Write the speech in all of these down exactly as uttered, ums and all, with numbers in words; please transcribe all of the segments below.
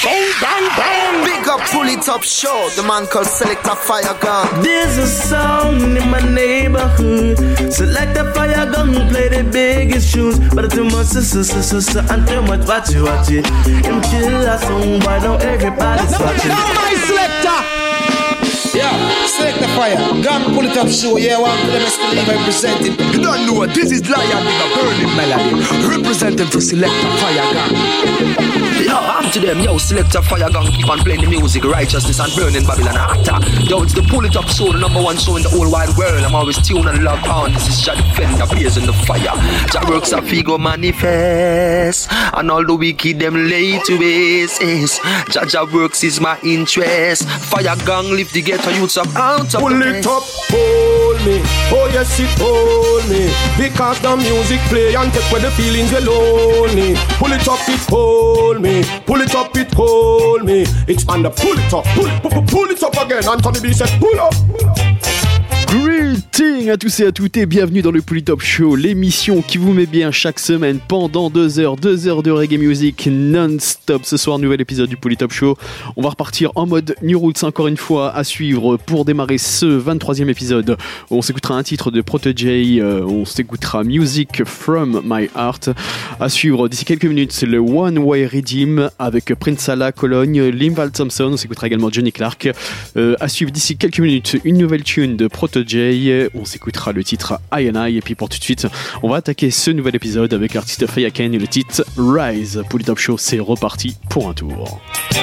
sound bang bang. Big up, pull it up, show. The man called Selector Fire Gun. There's a sound in my neighborhood. Selector Fire Gun play the biggest tunes, but too much sister, sister, sister, and too much watch it, watch it. Him kill a song, why don't everybody's watching? Now my selector. Yeah, Selector Fire Gun, pull it up, show. Yeah, one for them is to leave representing. You don't know, this is Lion with a burning melody, representing for Selector Fire Gun. Yo, I'm to them, yo, Selector Fire Gun, keep on playing the music, righteousness and burning Babylon hotter. Yo, it's the Pull It Up Show, the number one show in the whole wide world. I'm always tuned and locked on. This is Jah Defender, blazing the fire. Jah works a figo manifest, and all the wicked them lay to waste. Jah Jah works is my interest. Fire Gun lift the ghetto youths up out of Pull the it up, hold me. Oh yes, it hold me. Because the music play and take away the feelings we lonely. Pull it up, it hold me. Pull it up, it hold me. It's on the pull it up, pull it, pull, pull it up again. Anthony B said pull up, pull up. Greetings à tous et à toutes et bienvenue dans le Pull It Up Show, l'émission qui vous met bien chaque semaine pendant deux heures, deux heures de reggae music non-stop. Ce soir, nouvel épisode du Pull It Up Show. On va repartir en mode New Roots encore une fois à suivre pour démarrer ce vingt-troisième épisode. On s'écoutera un titre de Protégé, euh, on s'écoutera Music From My Heart. À suivre d'ici quelques minutes, c'est le One Way Redeem avec Prince Allah, Cologne, Linval Thompson. On s'écoutera également Johnny Clark. Euh, à suivre d'ici quelques minutes, une nouvelle tune de Protégé. On s'écoutera le titre I and I. Et puis pour tout de suite, on va attaquer ce nouvel épisode avec l'artiste Faya Kane et le titre Rise. Pull It Up Show, c'est reparti pour un tour.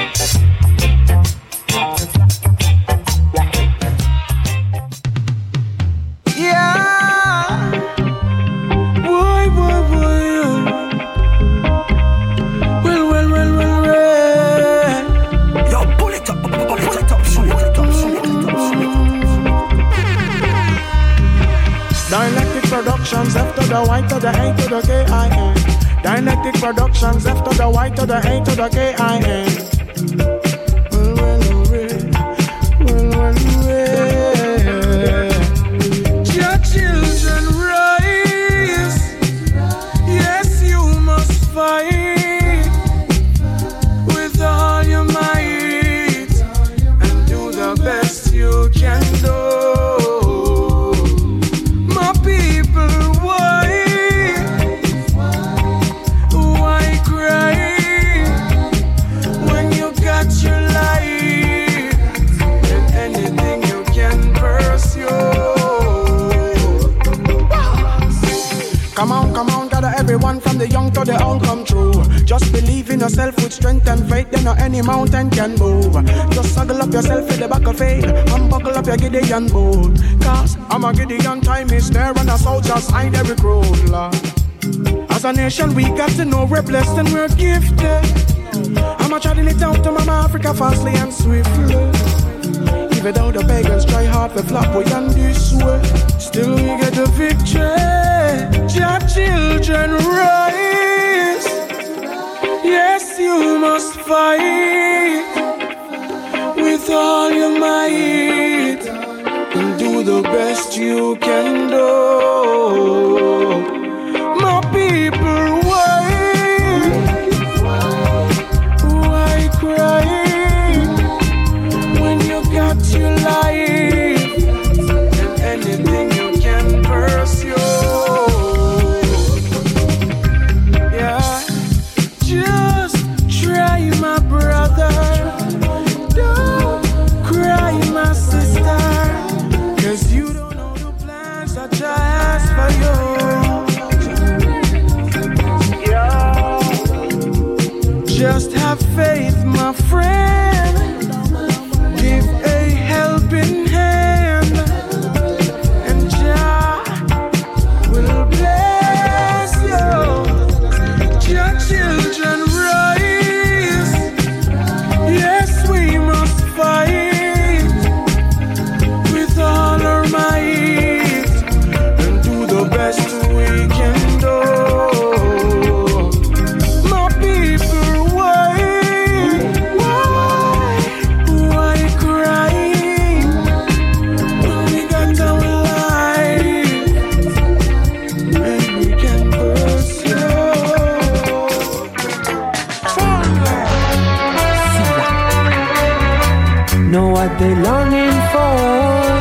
Yeah. Boy, boy, boy. Well, well, well, well, well. Yo, pull it up, pull it up, show, pull it up, show, pull it up, show. Dialectic Productions, F to the Y to the A to the K I N. Dialectic Productions, F to the Y to the A to the K I N. Well, well, well, well, well. Your children rise. Yes, you must fight with all your might and do the best you can do. Come on, come on, gather everyone from the young to the old come true. Just believe in yourself with strength and faith, then no any mountain can move. Just snuggle up yourself in the back of faith and buckle up your Gideon boot. Cause I'm a Gideon, time is near and a soldier's hide every crew. As a nation we got to know we're blessed and we're gifted. I'm a treading it out to Mama Africa fastly and swiftly. Even though the pagans try hard to flop we on this way, still we get the victory. Your children rise. Yes, you must fight with all your might and do the best you can do. My people, why? Why cry when you got your life and anything you can pursue? Just have faith, my friend. Give a helping hand, and Jah will bless you. Your children rise. Yes, we must fight with all our might and do the best we can do. My people, why? Why? what they longing for.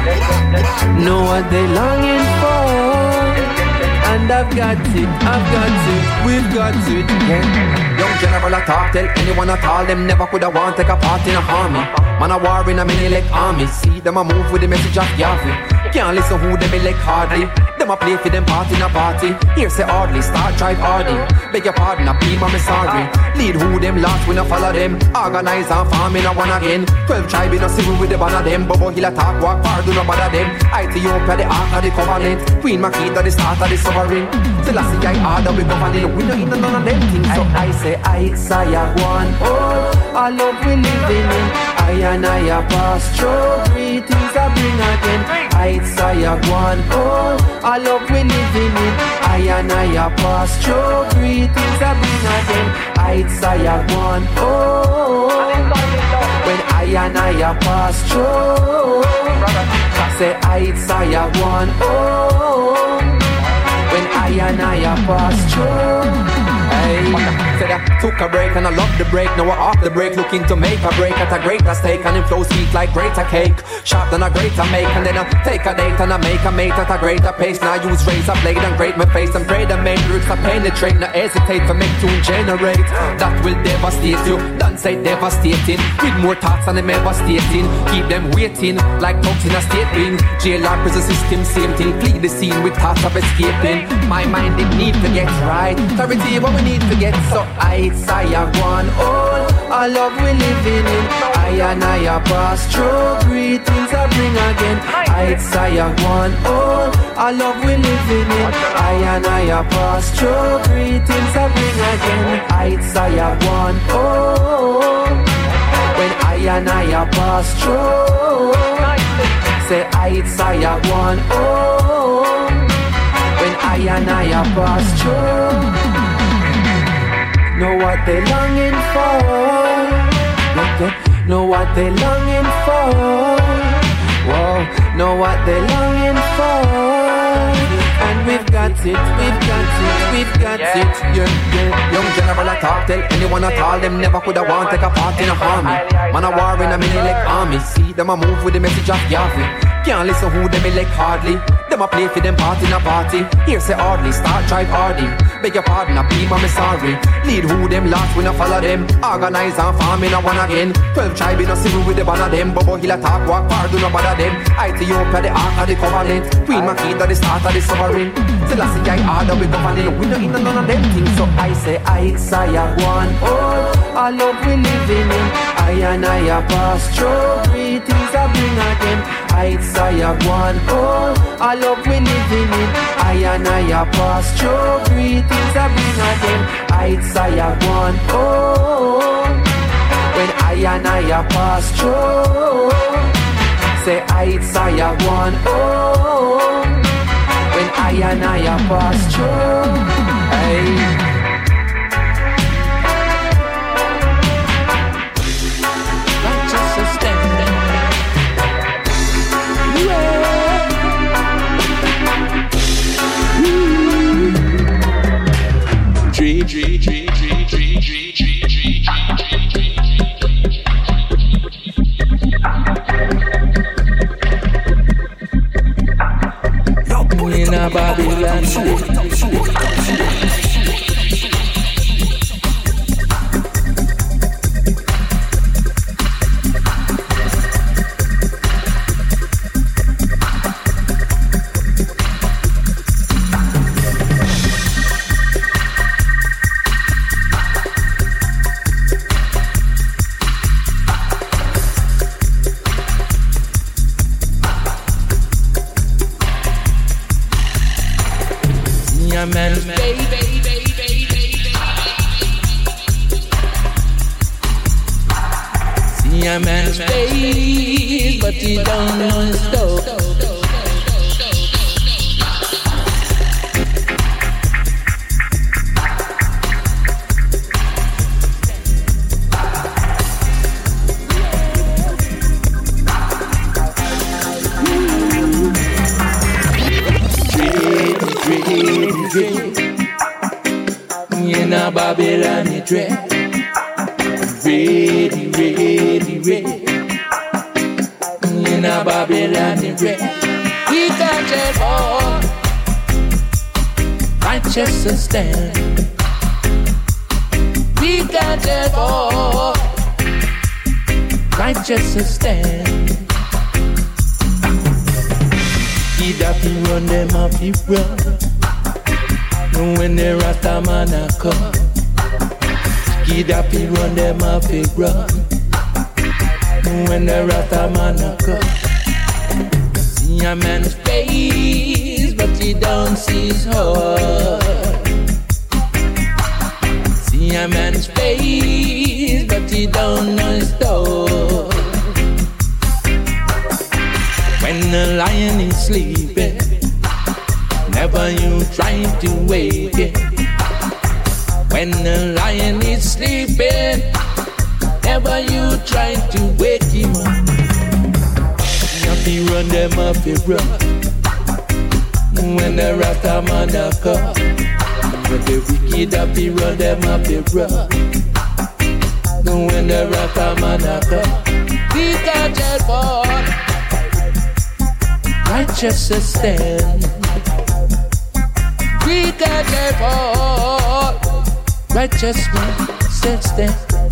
Know what they longing for. And I've got it, I've got it, we've got it. Yeah. Young general a talk, tell anyone at all, them never coulda want take a part in a army. Man a war in a mini like army. See them a move with the message of Yahweh. Can't listen who them elect hardly. Them a play for them part in a party. Here say hardly, start drive hardy. Beg your pardon, a beam, I'm sorry. Lead who them lost, we no follow them. Organize and farm in a one again. Twelve tribe in a civil with the banner them. Bobo Hill attack, walk far, do no bother them. Ethiopia, the ark of the covenant. Queen Makita, the start of the sovereign. Selassie, I order, we governing. We no in none of them things. So I say, I say, I one. Oh, I love we living in. I and I a pass through. Greetings I bring again. I say, I one. Oh, I love we living in. I and I a pass through. Greetings I bring again. I say, I one. Oh, when I and I a pass through. Say, I say, I one. Oh, when I and I a pass through. Hey, said I took a break and I love the break. Now we're off the break, looking to make a break at a greater stake. And it flows sweet like greater cake, sharp than a greater make. And then I take a date and I make a mate at a greater pace. Now I use razor blade and grate my face and pray the main roots I penetrate. Now hesitate for make tune generate. That will devastate you, don't say devastating. With more thoughts than them ever stating. Keep them waiting like dogs in a state ring. Jail or prison system, same thing. Flee the scene with thoughts of escaping. My mind it need to get right. Clarity what we need to get. So I say I one all. I love we living in. I and I a pass through. Greetings I bring again. I say I one all. I love we living in. I and I a pass through. Greetings I bring again. I say I one all. When I and I a pass through. Say I say I one all. When I and I a pass through. Know what they longing for. Know what they longing for. Whoa, know what they longing for. And we've got it, we've got it, we've got yeah. it. Yeah, yeah. Young general a talk, tell anyone at all, them never coulda want take a part in a army. Man a war in a mini like army. See them a move with the message of Yahweh. Can't listen who them elect hardly. Them a play for them part in a party. Here say hardly, start drive hardy. Beg your pardon, a beam, I'm sorry. Lead who them lost, we no follow them. Organize and farm in a one again. Twelve tribe in a civil with the banner them. Bobo Hill attack, walk far, do no bother them. Ethiopia, the ark of the covenant. Queen Makita, the start of the sovereign. Selassie, I order, we governing. We no in none of them things. So I say, I say, I one. Oh, I love we living in. I and I a pass through. Greetings I bring again. I say, I one. Oh, I love we living in. I and I a pass through. Greetings I bring again. I say, I one. Oh, when I and I a pass through. Say, I say, I one. Oh, when I and I a pass through. Hey. G G G G G G G G in a Babylon. But he don't know his stuff. In a Babylon, it red, ready, ready, ready. dread. We got it all. Righteous stand. We got it all. Righteous stand. He that be run them up, he run. And when the Rasta man a come, he that be run them up, he run. And when the Rasta man a come, see a man's face, but he don't see his heart. See a man's face, but he don't know his thought. When the lion is sleeping, never you try to wake it. When the lion is sleeping, never you try to wake him up. If he run them up, he run. When the Rasta man a come, but the wicked up, he run them up, he run. When the Rasta man a come, he got it for righteous stand. We got it all. Righteousness stand.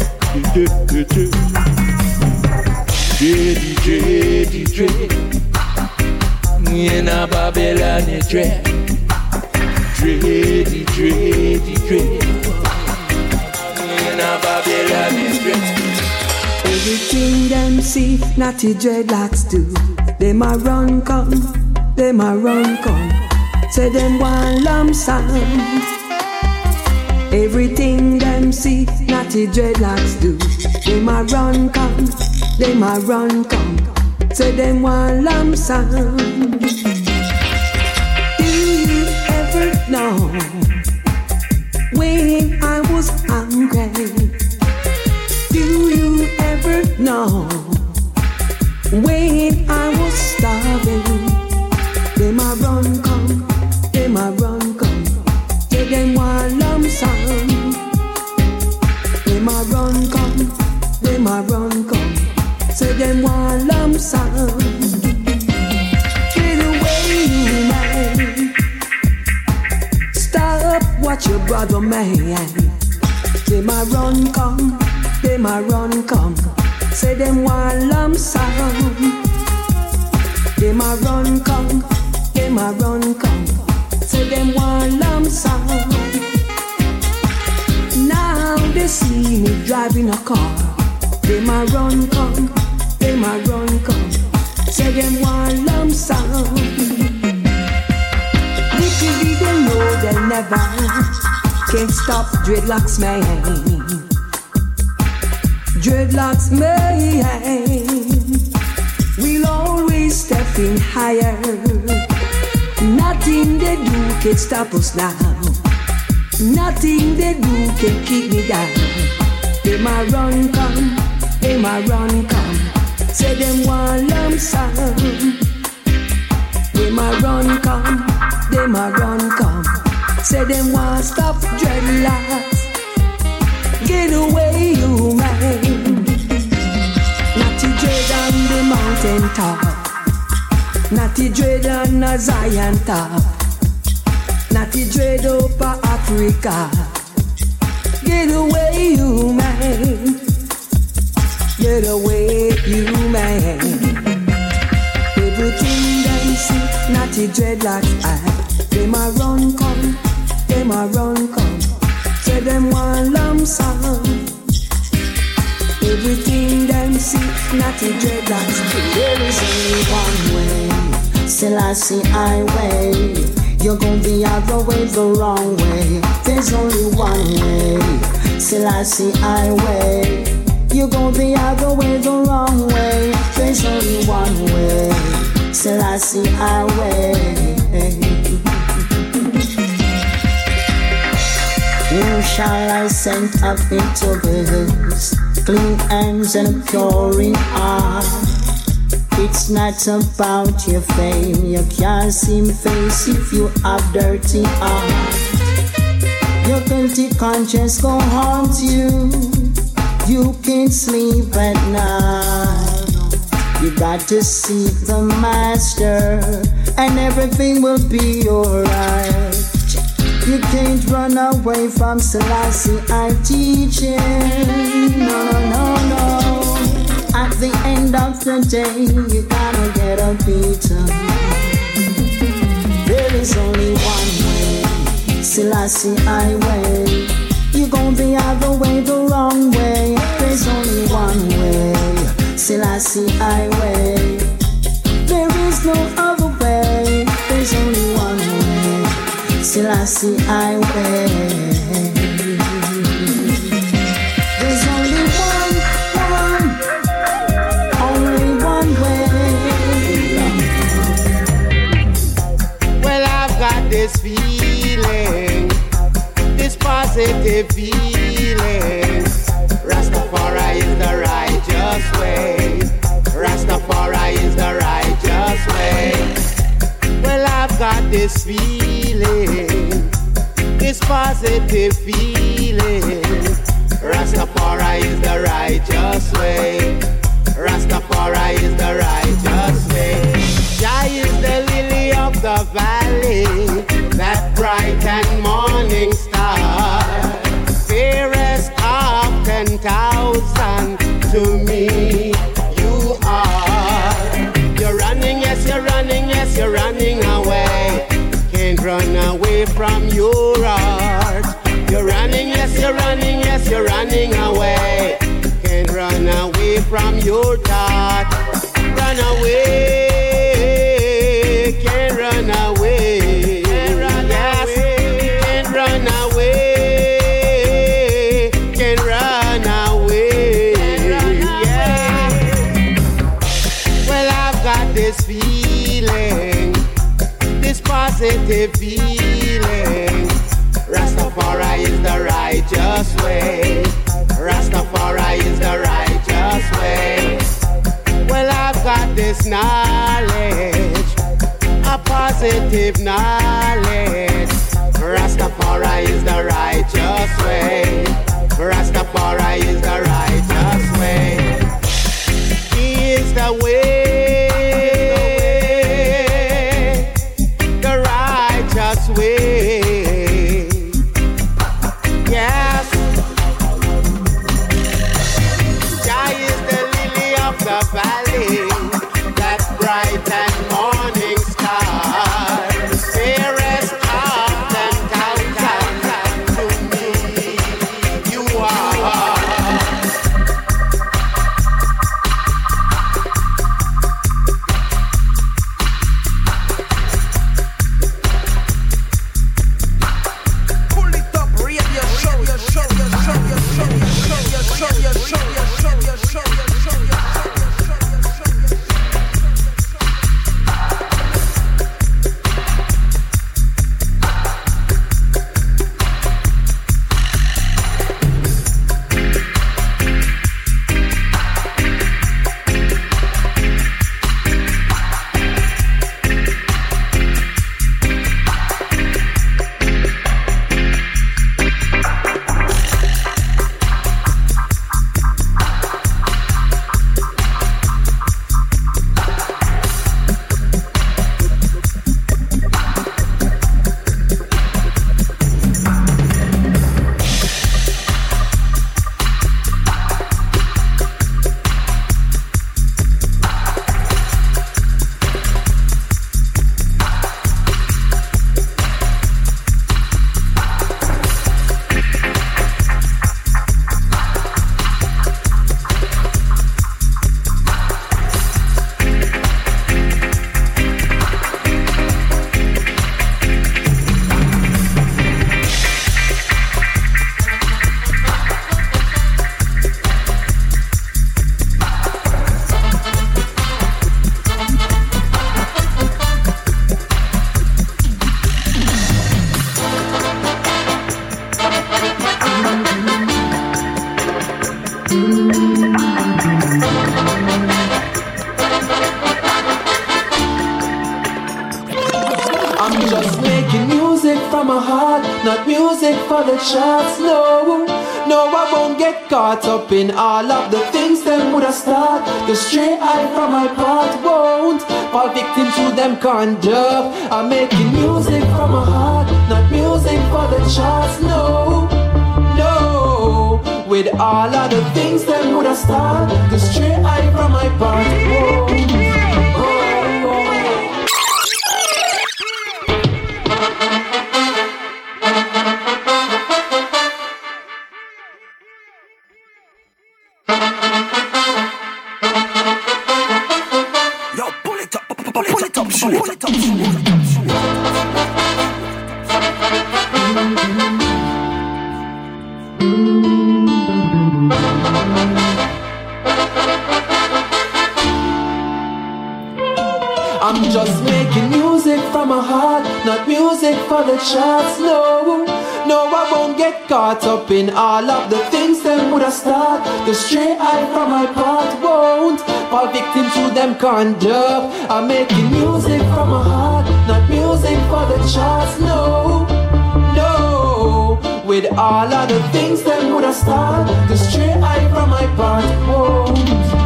D J, D J, in a Babylon dread. Dre, D J, D J, in a Babylon dread. Everything them see, Natty dreadlocks do. Them a run come, them a run come. Say them one lump sum. Everything them see, Natty dreadlocks do. Them a run come, them a run come. Say them one lump sum. Do you ever know when I was hungry? Do you ever know when I was starving? Them a run come, them a run come. Say them one lump sum. Them a run come, them a run come. Say them one lump sum. Get away, you man. Stop what your brother man. Them a run come, them a run come. Say them one lump sum. Them a run come, them a run come. Say them one lump sum. Now they see me driving a car. Them a run come, them a run come. Say them one lump sum. Little did they know they never can stop dreadlocks man. Dreadlocks man, we'll always step in higher. Nothing they do can stop us now. Nothing they do can keep me down. They ma run come, they ma run come. Say them one lump sum. They ma run come, they ma run come. Say them one stop dreadlocks. Get away, you man. Natty dread on the mountain top. Natty dread on a Zion top. Natty dread over Africa. Get away, you man. Get away, you man. Everything they see, Natty dreadlocks eye. They ma run come, they ma run come. Say them one lump sum. Everything them see, Natty dreadlocks. There is only one way, Selassie highway. You're gonna be either way, the wrong way. There's only one way, Selassie highway. You're gonna be either way, the wrong way. There's only one way, Selassie highway. Who shall I send up into this? Clean hands and a pure in heart. It's not about your fame. You can't see my face if you have dirty heart. Your guilty conscience gon' haunt you. You can't sleep at night. You got to seek the master, and everything will be alright. You can't run away from Selassie I'm teaching. No, no, no, no. At the end of the day, you gotta get a beaten. There is only one way, Selassie I way. You gon' be either way, the wrong way. There's only one way, Selassie I way. There is no other way. There's only one way, Selassie I way. There's only one, one, only one way. Well, I've got this feeling, this positive feeling. Rastafari is the righteous way. Rastafari is the righteous way. Well, I've got this feeling, this positive feeling. Rastafari is the righteous way. Rastafari is the righteous way. Jah is the lily of the valley, that bright and morning star, fairest of ten thousand to me. You are. You're running, yes, you're running, yes, you're running away. Can't run away from your heart. You're running, yes, you're running, yes, you're running away. Can't run away from your thought. Run away. Can't run away. Can't run yes. away. Can't run away. Can't run away. Can't run away. Well, I've got this feeling, this positive feeling. Rastafari is the righteous way. Rastafari is the righteous way. Well, I've got this knowledge, a positive knowledge. Rastafari is the righteous way. Rastafari is the righteous way. He is the way, the righteous way. Yes. Jah is the lily of the valley, that bright and morning star, fairest of ten thousand to me. You are. Pull it up, radio show, your show, your show, your show, your show, your show, your show, your show, your show, your show, your I'm just making music from my heart, not music for the charts, no. No, I won't get caught up in all of the things them would have start to stray I from my path. Won't fall victim to them conduct. I'm making music from my heart, not music for the charts. No, no. With all of the things them would have start to stray I from my path. Won't. I'm just making music from my heart, not music for the charts. No, no, I won't get caught up in all of the things them would have start to stray I from my path. Won't fall victim to them conduct. I'm making music from my heart, not music for the charts. No, no. With all of the things them would have start to stray I from my path. Won't.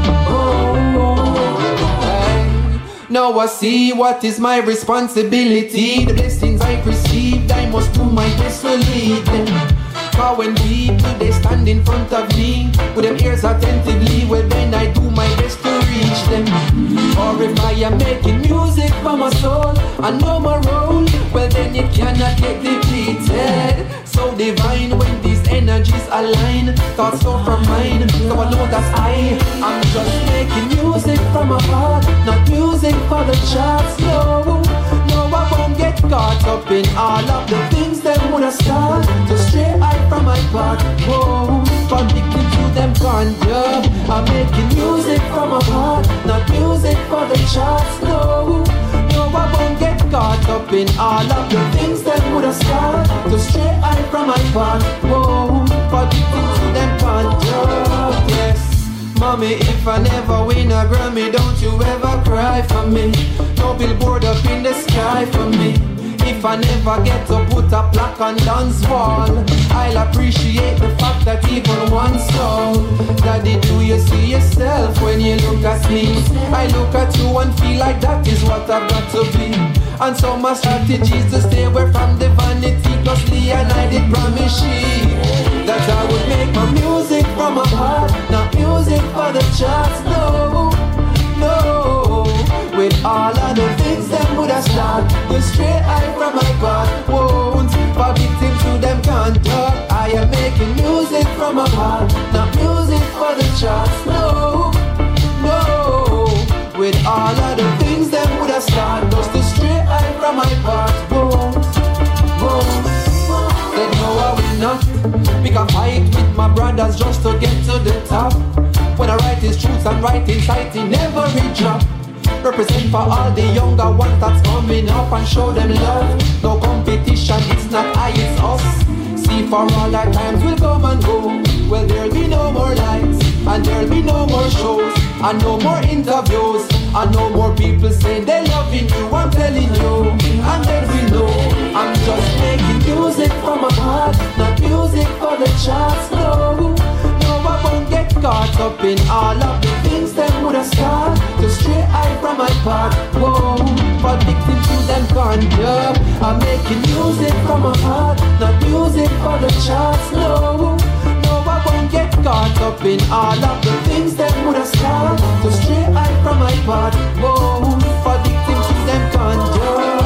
Now I see what is my responsibility. The blessings I've received, I must do my best to lead them. For when people, they stand in front of me with them ears attentively, well then I do my best to reach them. Or if I am making music for my soul, I know my role, well then it cannot get depleted. So divine when these energies align, thoughts come from mine, so I know that I am just making music from my heart, not music for the charts. No, no, I won't get caught up in all of the things that would have start to stray I from my path. Whoa, addicted to them conjure. I'm making music from my heart, not music for the charts. No, no, I won't get caught up in all of the things that would have start to stray I from my path. Whoa, addicted to them conjure. Yes. Mommy, if I never win a Grammy, don't you ever cry for me. No billboard up in the sky for me. If I never get to put a plaque on Don's wall, I'll appreciate the fact that even one soul. Daddy, do you see yourself when you look at me? I look at you and feel like that is what I've got to be. And so my strategy is to stay away from the vanity. Plus Lee and I did promise she that I would make my music from my heart, not music for the charts. No, no. With all of the things that would have started the straight eye from my path. Won't fall victim to them conduct. I am making music from my heart, not music for the charts. No, no. With all of the things that would have started just the straight eye from my path. Won't, won't. Said no, I will not pick a fight with my brothers just to get to the top. When I write these truths and write inside, it never reach up. Represent for all the younger ones that's coming up and show them love. No competition, it's not I, it's us. See, for all our times will come and go. Well, there'll be no more lights, and there'll be no more shows, and no more interviews, and no more people saying they're loving you, I'm telling you. And then we know I'm just making music from my heart, not music for the charts. No, no, I won't get caught up in all of the things that would have started to stray eye from my path. Whoa, fall victim to them conjure. I'm making music from my heart, not music for the charts. No, no, I won't get caught up in all of the things that would have started to stray eye from my path. Whoa, fall victim to them conjure.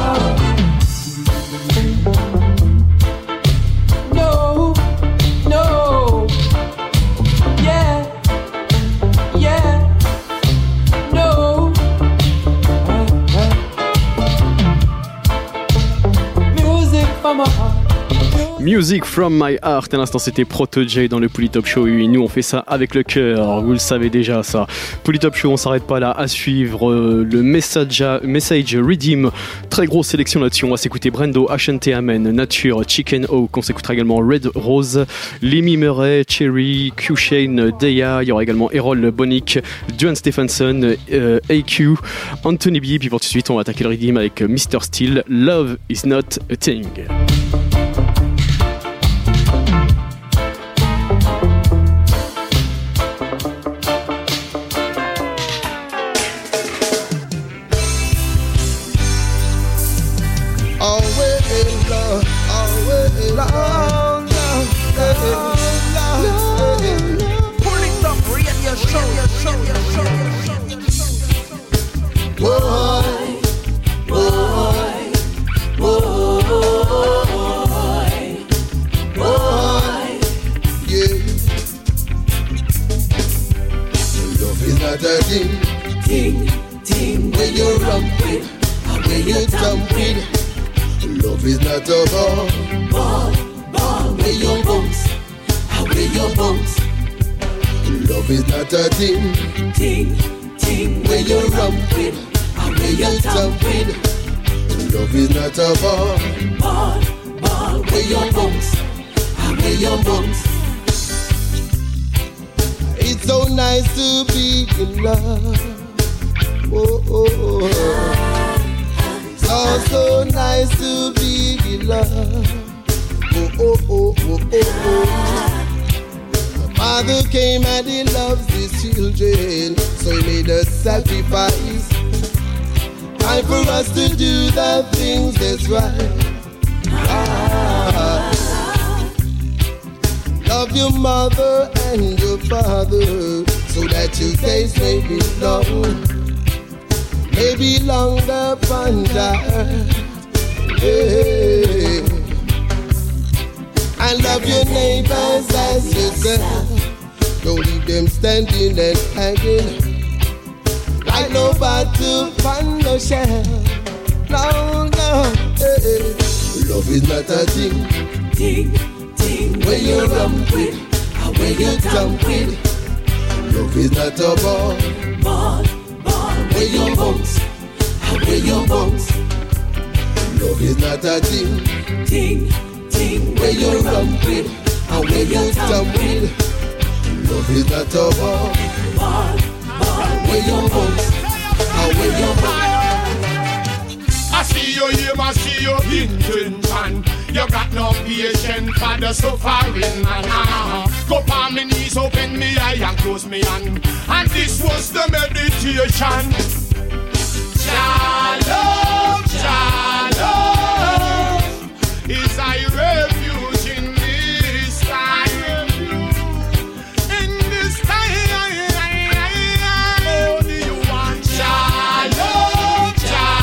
No, no, yeah, yeah. Music from my heart. À l'instant, c'était Proto-J dans le Polytop Show. Et nous, on fait ça avec le cœur. Vous le savez déjà, ça. Polytop Show, on s'arrête pas là. À suivre euh, le message, message Redeem. Très grosse sélection là-dessus. On va s'écouter Brendo, Ashanti Amen, Nature, Chicken Oak. On s'écoutera également Red Rose, Lemmy Murray, Cherry, Q-Shane, Deya. Il y aura également Errol Bonick, Duane Stephenson, euh, A Q, Anthony B. Puis pour tout de suite, on va attaquer le Redeem avec mister Steele. Love is not a thing. not a thing, thing, thing. Where you run with, and where you jump with. Love is not a ball, ball, ball. Where you bounce, and where you bounce. Love is not a thing, thing, thing. Where you run with, and where you jump with. Love is not a ball, ball, ball. Where you bounce, and where you bounce. It's so nice to be in love. Oh, oh, oh. So, so nice to be in love. Oh, oh, oh, oh, oh, oh. The Father came and he loves his children, so he made a sacrifice. Time for us to do the things that's right. Ah. Love your mother and your father, so that your days may be long, maybe longer upon the earth. Hey. And love your neighbors as yourself. Don't leave them standing and hanging like nobody on the shelf. No, no. Hey. Love is not a thing, thing, thing. Where you run with, and where you jump with. Love is not a ball, ball, ball. Where you bounce, and where you bounce. Love is not a thing, thing, thing. Where you run with, and where you jump with. Love is not a ball, ball, ball. Where you bounce, and where you bounce. I see you here, I see your intention. You got no patience for the suffering man. Uh-huh. Go on my knees, open me eye and close me hand. And this was the meditation. Shalom, shalom. Is I refuge in this time? In this time, only you want shalom,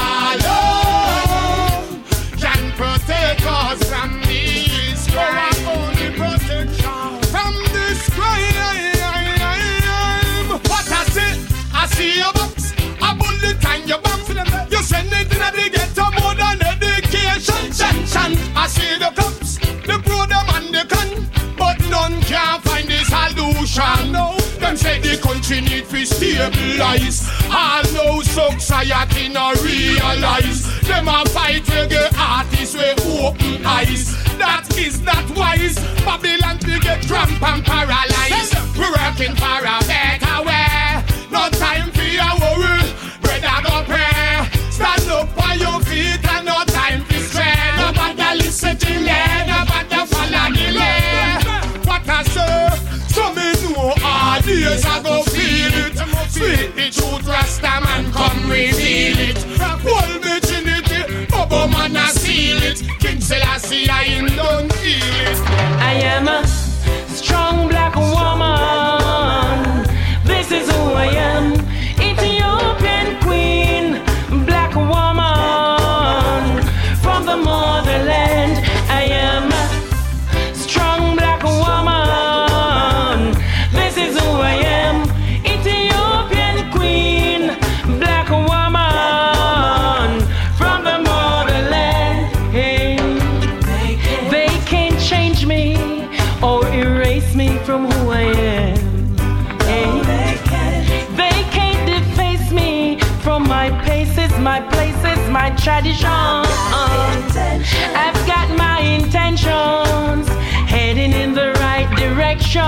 shalom. Can protect us from this crime. Only protection from this crime. What I say, I see your box, a bullet and your box. You send it in the ghetto more than education. Shan, shan. I see the cops, the pro them and the con, but none can find this solution. No, them say the country need to stabilize. All no society no realize. Them a fight reggae artists with open eyes. That is not wise. Babylon we get cramp and paralyzed. We're working for a better way. No time for your worry. Brother go pray. Stand up on your feet and no time for stray. Nobody listen to me. Nobody follow the way. What I say, so me know all days I go feel it. Speak the truth, Rasta man come reveal it. Hold me Trinity, Bobo man I seal it. King Selassie I him don't feel it. I am a strong black woman. This is who I am. Ethiopian queen, black woman from the motherland. I am a strong black woman. This is who I am. Ethiopian queen, black woman from the motherland. Hey. They can't change me or erase me from who I am. Hey. They can't deface me from my paces, my places, my tradition. I've got my intentions heading in the right directions.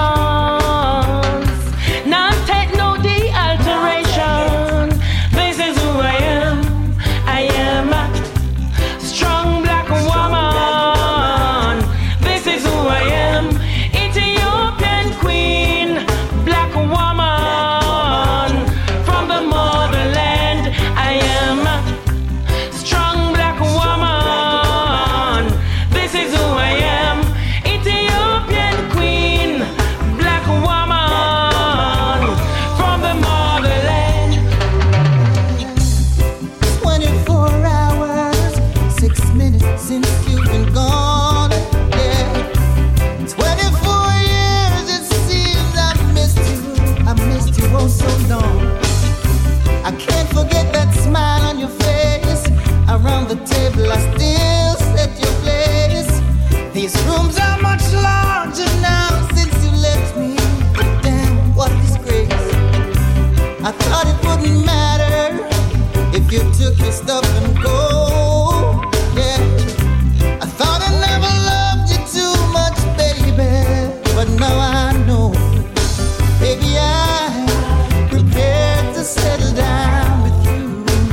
Not take no de-alteration. This is who I am. I am a strong black woman. This is who I am. Ethiopian queen, black woman from the motherland. I am a strong black woman. This is who I am. Ethiopian queen, black woman twist up and go. Yeah, I thought I never loved you too much, baby, but now I know, baby, I'm prepared to settle down with you.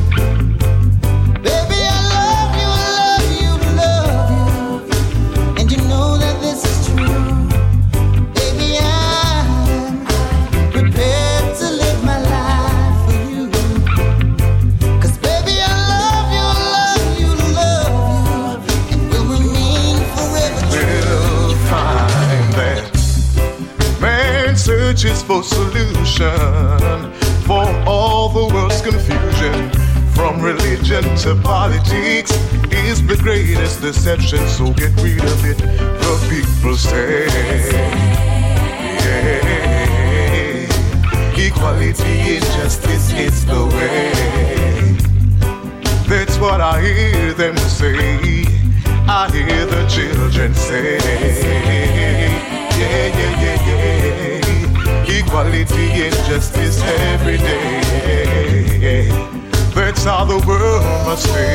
Baby, I love you, love you, love you, and you know that this is true. Baby, I'm prepared to live my life for you. 'Cause baby, I love you, love you, love you, and will remain forever true. We'll find that man searches for solution for all the world's confusion. From religion to politics is the greatest deception. So get rid of it, the people say. Yeah. Equality and justice is the way. That's what I hear them say. I hear the children say. Yeah, yeah, yeah, yeah. Equality and justice every day. That's how the world must be.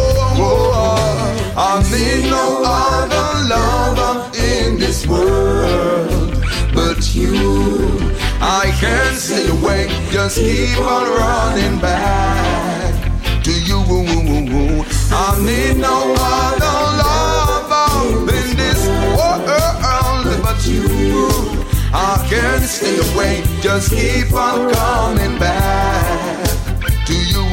I need no other lover in this world but you. I can't stay away, just keep on running back to you. I need no other lover in this world but you. I can't stay away, just keep on coming back to you.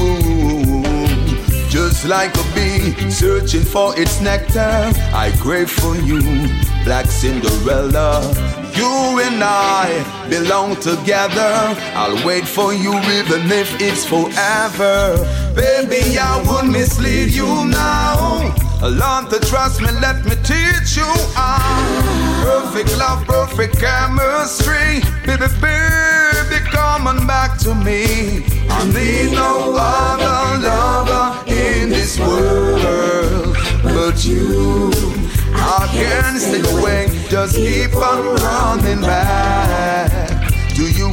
Just like a bee searching for its nectar, I crave for you, Black Cinderella. You and I belong together. I'll wait for you even if it's forever. Baby, I won't mislead you now. Learn to trust me, let me teach you how. Perfect love, perfect chemistry. Baby, baby, come on back to me. I need no other lover in this world but you. I can't stay away, just keep on running back to you.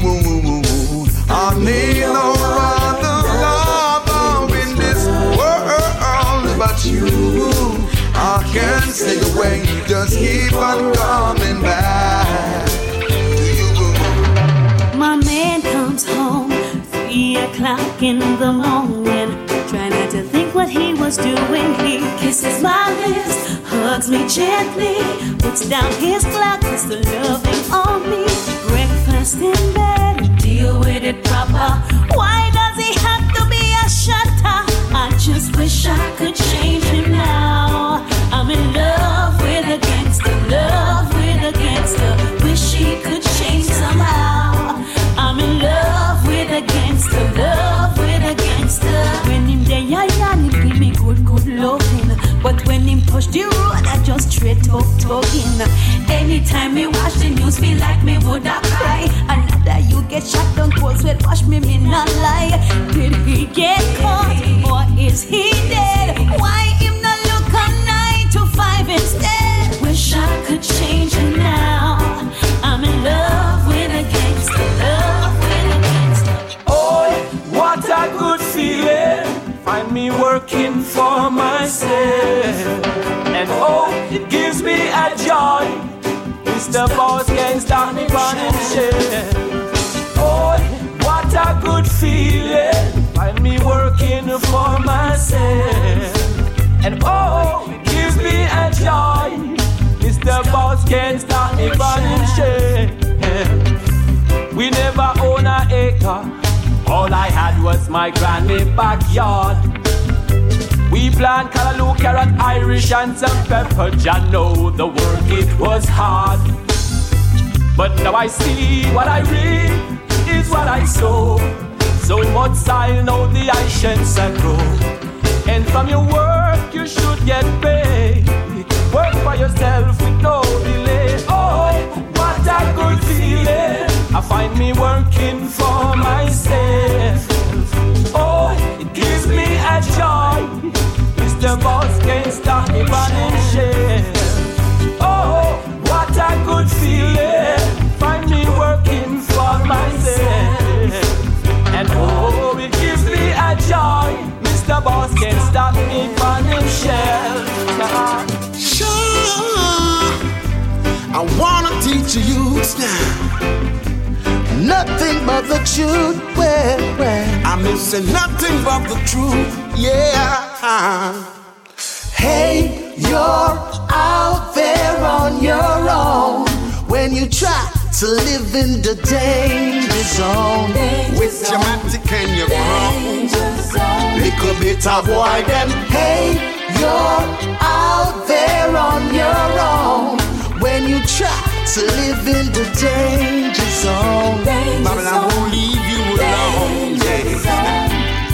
I need no other lover in this world but you. I can't stay away, just keep on coming back to you. My man comes home three o'clock in the morning. Try not to think what he was doing. He kisses my lips, hugs me gently, puts down his clock, puts the loving on me. Breakfast in bed, deal with it proper. Why does he have to be a shutter? I just wish I could change him now. I'm in love with a gangster, love with a gangster. Wish he could change somehow. I'm in love with a gangster, love with a gangster. When him day I yarn, he give me good, good loving. But when him touch the road, I just straight talk talking. Anytime me watch the news, feel like me woulda cry. Another you get shot down cold sweat, wash me, me not lie. Did he get caught or is he dead? Why him not look on nine to five instead? Wish I could change him now. I'm in love with a gangster, love with a gangster. Oh, what a good feeling. Find me working for myself. And oh, it gives me a joy. Mister Boss can't stop me running shit. Oh, what a good feeling. Find me working for myself. And oh, it gives me a joy. Mister Boss can't stop me running shit. We never own an acre. All I had was my granny backyard. We plant callaloo, carrot, Irish and some pepper. Jah know the work, it was hard. But now I see what I reap is what I sow. So much soil, know the I shall grow. And from your work you should get paid. Work for yourself with no delay. Oh, what a good feeling. I find me working for myself. Oh, it gives me a joy. Mister Boss can't stop me running shit. Oh, what a good feeling. Find me working for myself. And oh, it gives me a joy. Mister Boss should wear. I'm missing nothing but the truth, yeah. Hey, you're out there on your own when you try to live in the danger zone. With your matic and your ground, little bit of boy them. Hey, you're out there on your own when you try to live in the danger zone. Babylon won't leave you alone, yeah.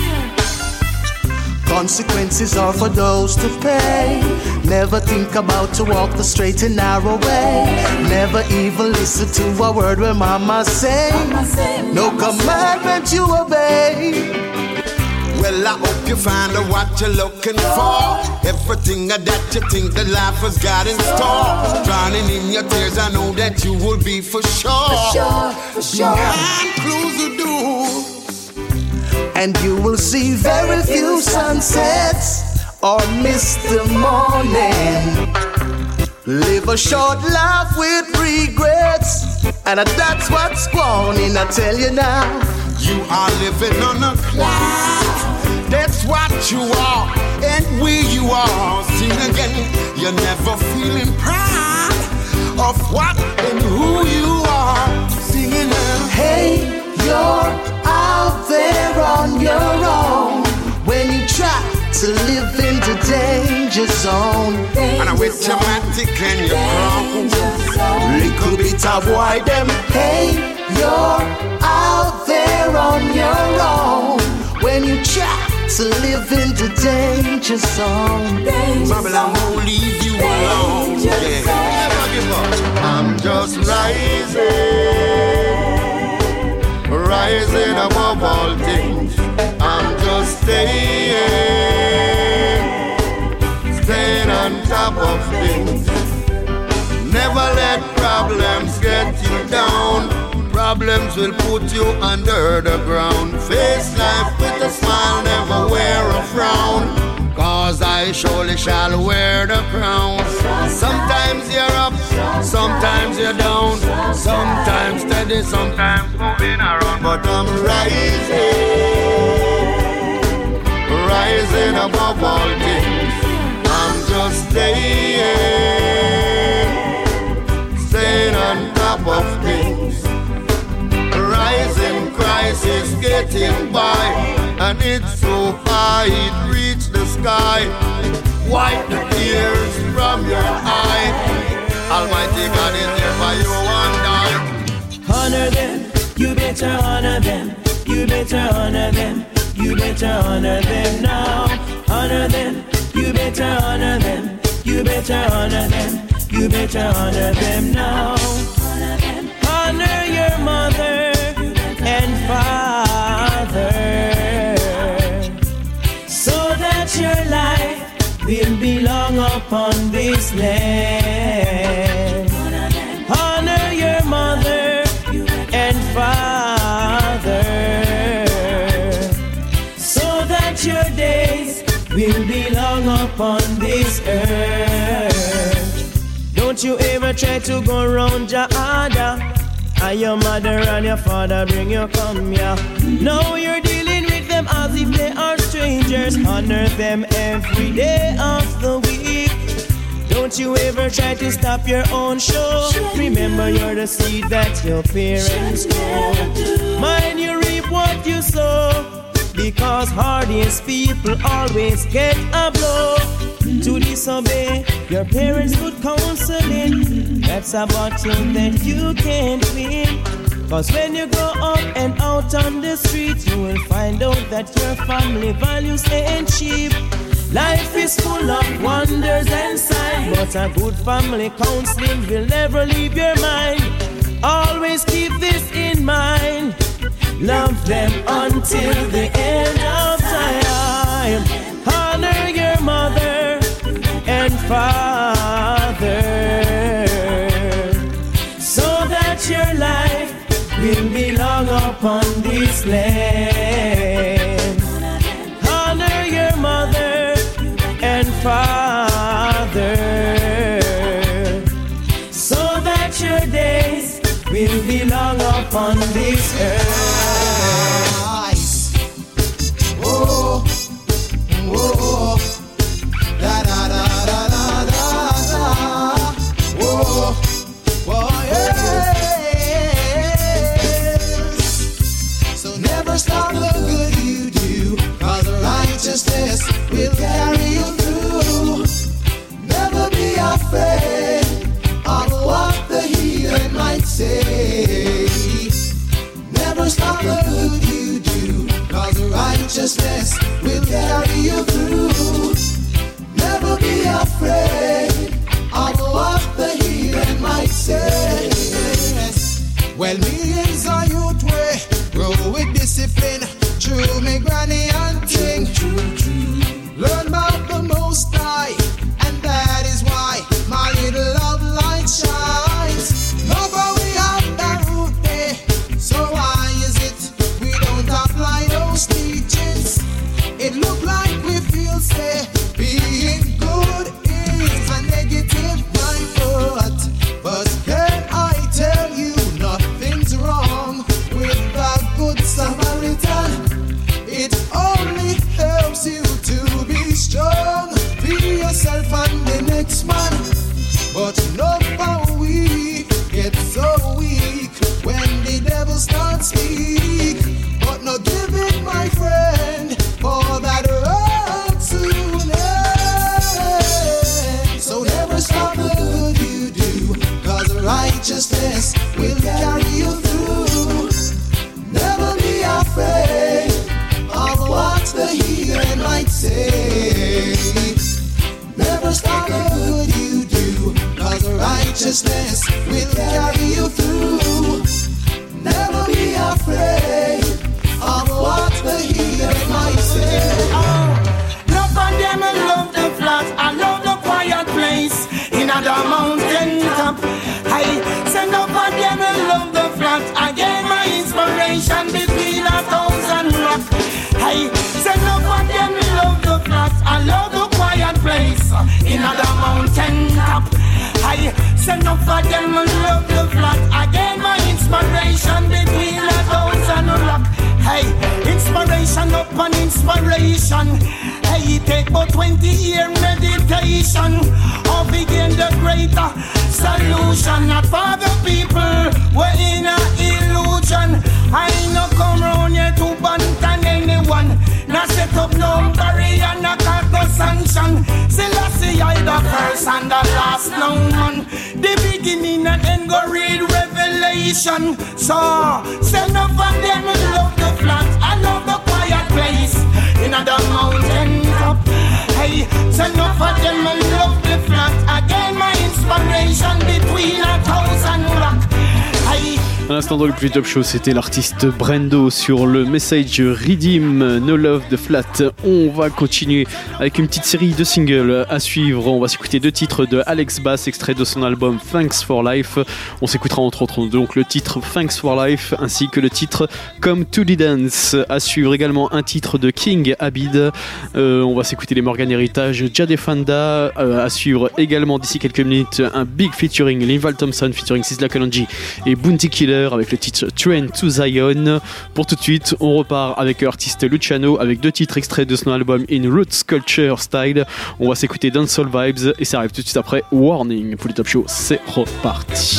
Consequences are for those to pay. Never think about to walk the straight and narrow way. Never even listen to a word when mama say. No commandment you obey. Well, I hope you find out what you're looking for. Everything that you think that life has got in store. Drowning in your tears, I know that you will be for sure. For sure, for sure. Behind closed doors, and you will see very few sunsets or miss the morning. Live a short life with regrets, and that's what's going on, I tell you now. You are living on a cloud. That's what you are, and where you are. Sing again, you're never feeling proud of what and who you are. Singing now. Hey, you're out there on your own when you try to live in the danger zone. And I with your matic and your crown, little bit of why them. Hey, you're out there on your own when you try to live in the danger zone. Babylon won't leave you alone. Yeah. Never give up. I'm just rising, rising above all things. I'm just staying, staying on top of things. Never let problems get you down. Problems will put you under the ground. Face life with a smile, never wear a frown. Cause I surely shall wear the crown. Sometimes you're up, sometimes you're down. Sometimes steady, sometimes moving around. But I'm rising, rising above all things. I'm just staying, staying on top of things. Rising crisis getting by, and it's so high it reached the sky. Wipe the tears from your eye. Almighty God is there for you one day. Honor them, you better honor them. You better honor them. You better honor them now. Honor them, you better honor them. You better honor them. You better honor them now. Honor your mother and father, so that your life will belong upon this land. Honor your mother and father, so that your days will belong upon this earth. Don't you ever try to go round your order. And your mother and your father bring you come here. Now you're dealing with them as if they are strangers. Honor them every day of the week. Don't you ever try to stop your own show. Remember you're the seed that your parents grow. Mind you reap what you sow, because hardest people always get a blow. To disobey your parents' good counseling, that's a battle that you can't win. Cause when you grow up and out on the street, you will find out that your family values ain't cheap. Life is full of wonders and signs, but a good family counseling will never leave your mind. Always keep this in mind. Love them until the end of time. Honor your mother and father, so that your life will belong upon this land. Honor your mother and father, so that your days will belong upon this earth. righteousness will carry you through. Never be afraid of what the heathen might say. Well, millions of youth way grow with discipline through me granny and ting. Learn about the Most High, and that is why my little love light shines. Nobody we have that root there, so why is it we don't apply those teachings? It look like we feel say being good is a negative mindset, but can I tell you nothing's wrong with the good Samaritan? It only helps you to be strong, be yourself and the next man. But look how we get so weak when the devil starts speak. But no give it, my friend, for that road soon ends. So never stop the good you do, cause righteousness will carry you through. Never be afraid of what the heathen might say. Never stop the good you do, cause righteousness will carry you through. Never be afraid of what the heathen might say. Oh, love on them and love the flat. I love the quiet place in a mountain top. I send up on them and love the flat. I get my inspiration between a thousand rocks. I send up on them and love the flat. I love the quiet place in a mountain top. I send up for them and love the flat. I get my inspiration between a thousand rocks. Hey, inspiration upon inspiration. Hey, it take about twenty year meditation or begin the greater solution. Not for the people, we're in a illusion. I ain't no come round here to bantan anyone. Now set up no barrier, not got no sanction. Still I see I the first and the last no man. The beginning and end go read Revelation. So, send up for them and love the flat. I love the quiet place in the mountain top. Hey, send up for them and love the flat. Again my inspiration between a thousand rocks. Hey. À l'instant dans le plus top show, c'était l'artiste Brendo sur le message Redeem No Love de Flat. On va continuer avec une petite série de singles à suivre. On va s'écouter deux titres de Alex Bass, extrait de son album Thanks for Life. On s'écoutera entre autres donc le titre Thanks for Life ainsi que le titre Come to the Dance. À suivre également un titre de King Abid. Euh, on va s'écouter les Morgan Heritage, Jade Fonda. Euh, à suivre également d'ici quelques minutes un big featuring Linval Thompson featuring Sizzla Kalonji et Bounty Killer avec le titre Train to Zion. Pour tout de suite, on repart avec l'artiste Luciano avec deux titres extraits de son album In Roots Culture Style. On va s'écouter Dancehall Vibes et ça arrive tout de suite après Warning. Pour le top show, c'est reparti.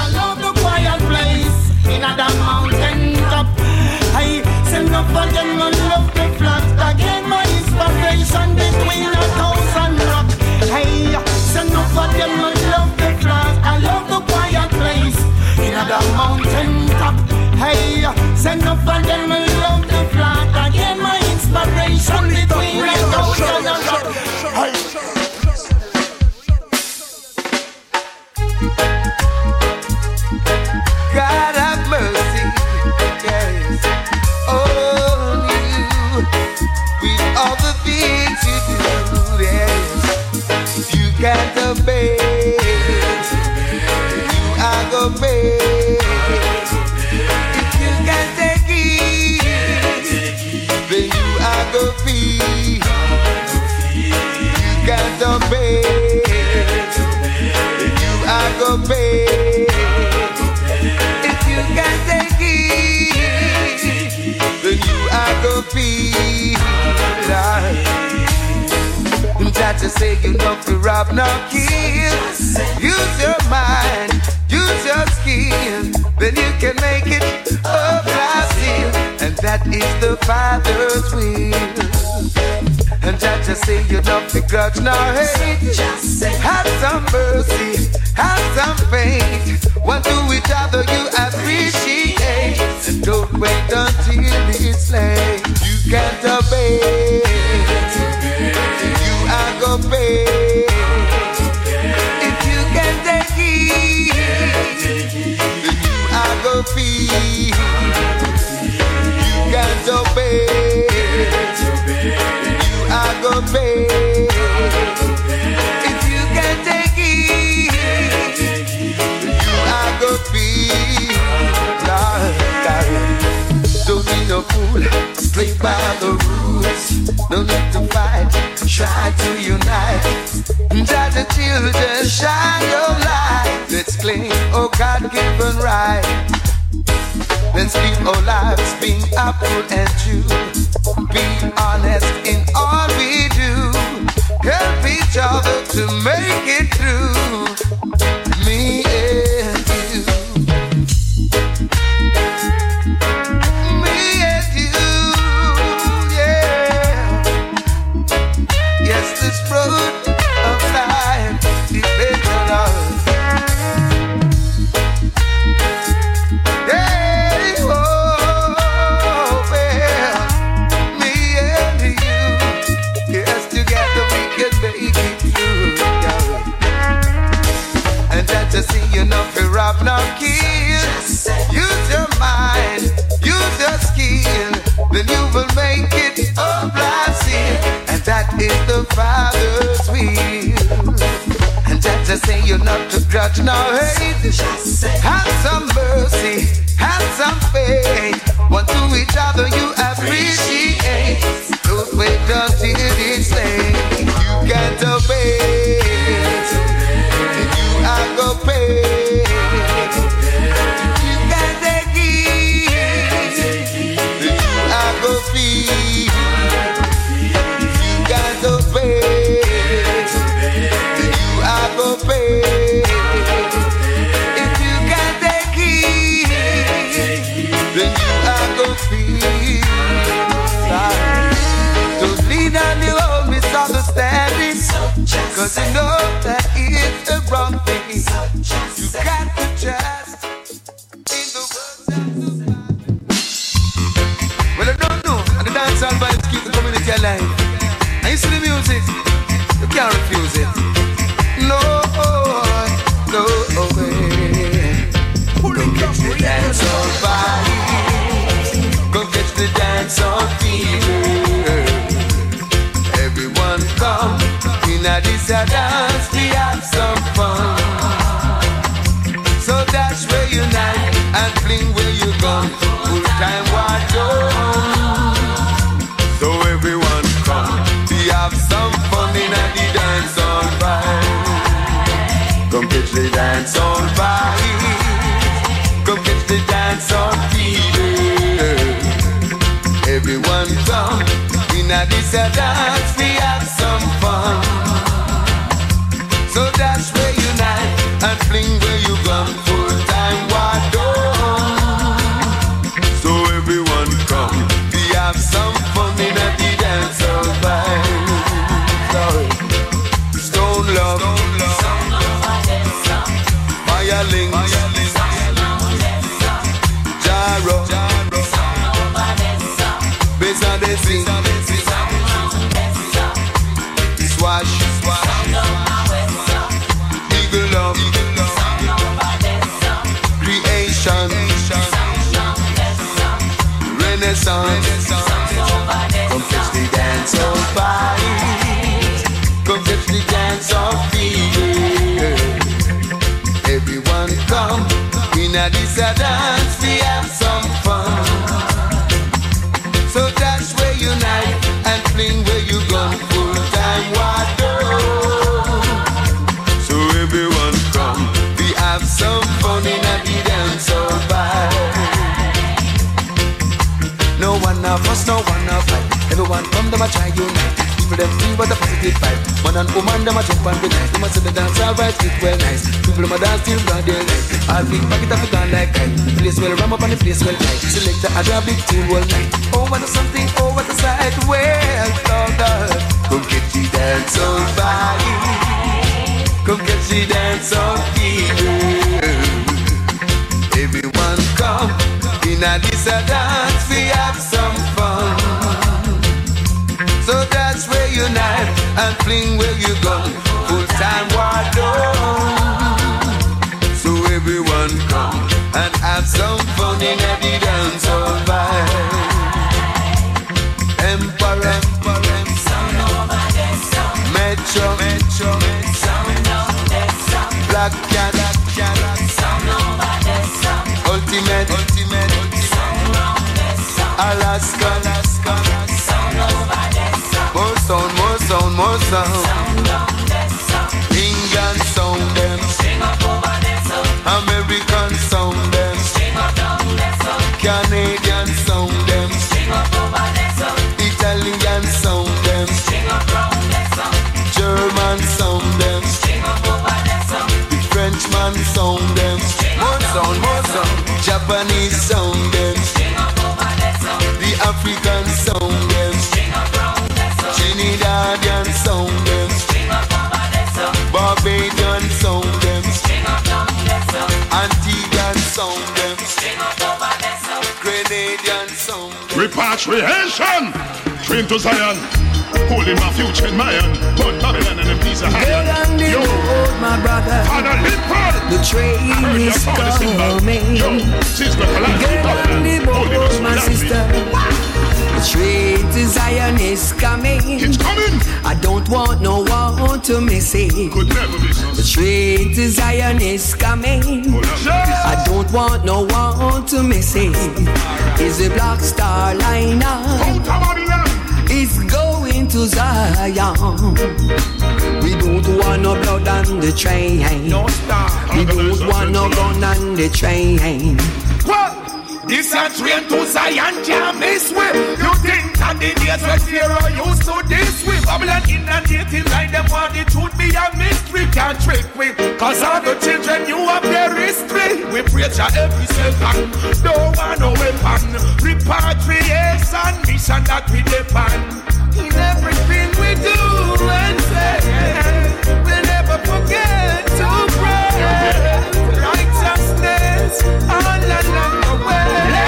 The mountain top, hey, send up for them and love the flat. I get my inspiration between the thousand and rock. Hey. God have mercy, yes, on you with all the things you do, yes. If you can't obey, you are gonna pay. You obey, you are gonna pay. If you can't take it, then you are gonna feel like. That to say you know to rob, no kill. Use your mind, use your skill, then you can make it a blessing, and that is the Father's will. And that just say you don't begrudge nor hate. Have some mercy, have some faith. One to each other you appreciate. And don't wait until it's late. You can't obey, you are go pay. If you can take it, then you are go feel. You can't obey, you are go pay. If you can take it, you are go feel. Don't be no fool, slay by the rules. No need to fight, try to unite. Judge the children, shine your light. Let's claim, oh God-given right. Let's live our lives being upright and true. Be honest in all we do. Help each other to make it through. Me and you. Me and you, yeah. Yes, this road of life depends on us. Hey, oh, well, me and you. Yes, together we can make it through, yeah. And that to see you not be rob, not kill. Use your mind, use your skill, then you will make it a blessing. And that is the Father's will. And that to say you're not to grudge nor hate. Have some mercy, have some faith. One to each other you appreciate. Don't wait until it's late. You can't obey, you are go pay. You can't take it, you are go feel. You can't obey, you are go pay. If you can't take it, then you are go feel. Don't lean on your own misunderstanding, cause you know that it's the wrong thing. You got to trust in the words. Well, I don't know, and the dancehall vibes keep the community alive. And you see the music, you can't refuse it. No, no way. Come catch the dancehall vibes, come catch the dancehall fever. Everyone come, in a this a dance, we have some fun. So dash where you night and fling where you gone. Full time watch on. So everyone come, we have some fun in a the dance on vibe. Come catch the dance on vibe. Come catch the dance on fever. Everyone come, in a this a dance, we have some fun. So dash where you night and fling where you gone. Full time wide on. So everyone come, we have some fun in a the dance of vibe. Stone love, fire links, gyro, bass on the sing, swash, eagle love, creation, renaissance. Come catch the dance of vibes, come catch the dance of fever. Everyone come, in a this a dance, we have some fun. So dash where you night and fling where you gone. Full time water. So everyone come, we have some fun in a the dance of vibe. No one of us, no one of us. Everyone come, them a try unite. People them feel what a positive vibe. Man and woman, them a jump and be nice. Them a say the dance alright, it well nice. People them a dance till broad daylight. All big back it up, it gone like kite. The place well ram up and the place well tight. Select the other big tune all night. Oh, what a something, oh, what a sight. Well, Lord, come get the dance on body. Come get the dance on fever. Everyone come, in a this a dance, we have some fun. and fling where you gun. Full time war done. So everyone come and have some fun in a dance all vibe. Emperor, Emperor, Metro, Metro, Black Cat, Ultimate, Ultimate, Alaska, Alaska, more sound, more sound, more sound. England sound them, American sound them, Canadian sound them, Italian sound them, German sound them, the Frenchman sound them, more sound, more sound, Japanese sound them, the African sound them, Trinidadian sound them, Barbadian sound them, Antiguan sound them, Grenadian sound them. Repatriation, train to Zion, holding my future in my hand, but Babylon and a piece of Get on the iron. road, my brother. The train is coming. Get on the boat, my sister. The train to Zion is coming. It's coming. I don't want no one to miss it. Could never miss us. The train to Zion is coming. I don't want no one to miss it. It's a Black Star liner. It's going to Zion. We don't want no blood on the train. No star. We don't want no gun on the train. What? This a train to Zion, can't miss way. You think that the days when Pharaoh used to this way? Babylon in the native line, them want the truth be a mystery. Can't trick we, cause all the children you have their history. We preach at every second, don't want no weapon. Repatriation mission that we depend. In everything we do and say, we'll never forget to pray. Righteousness all along the way.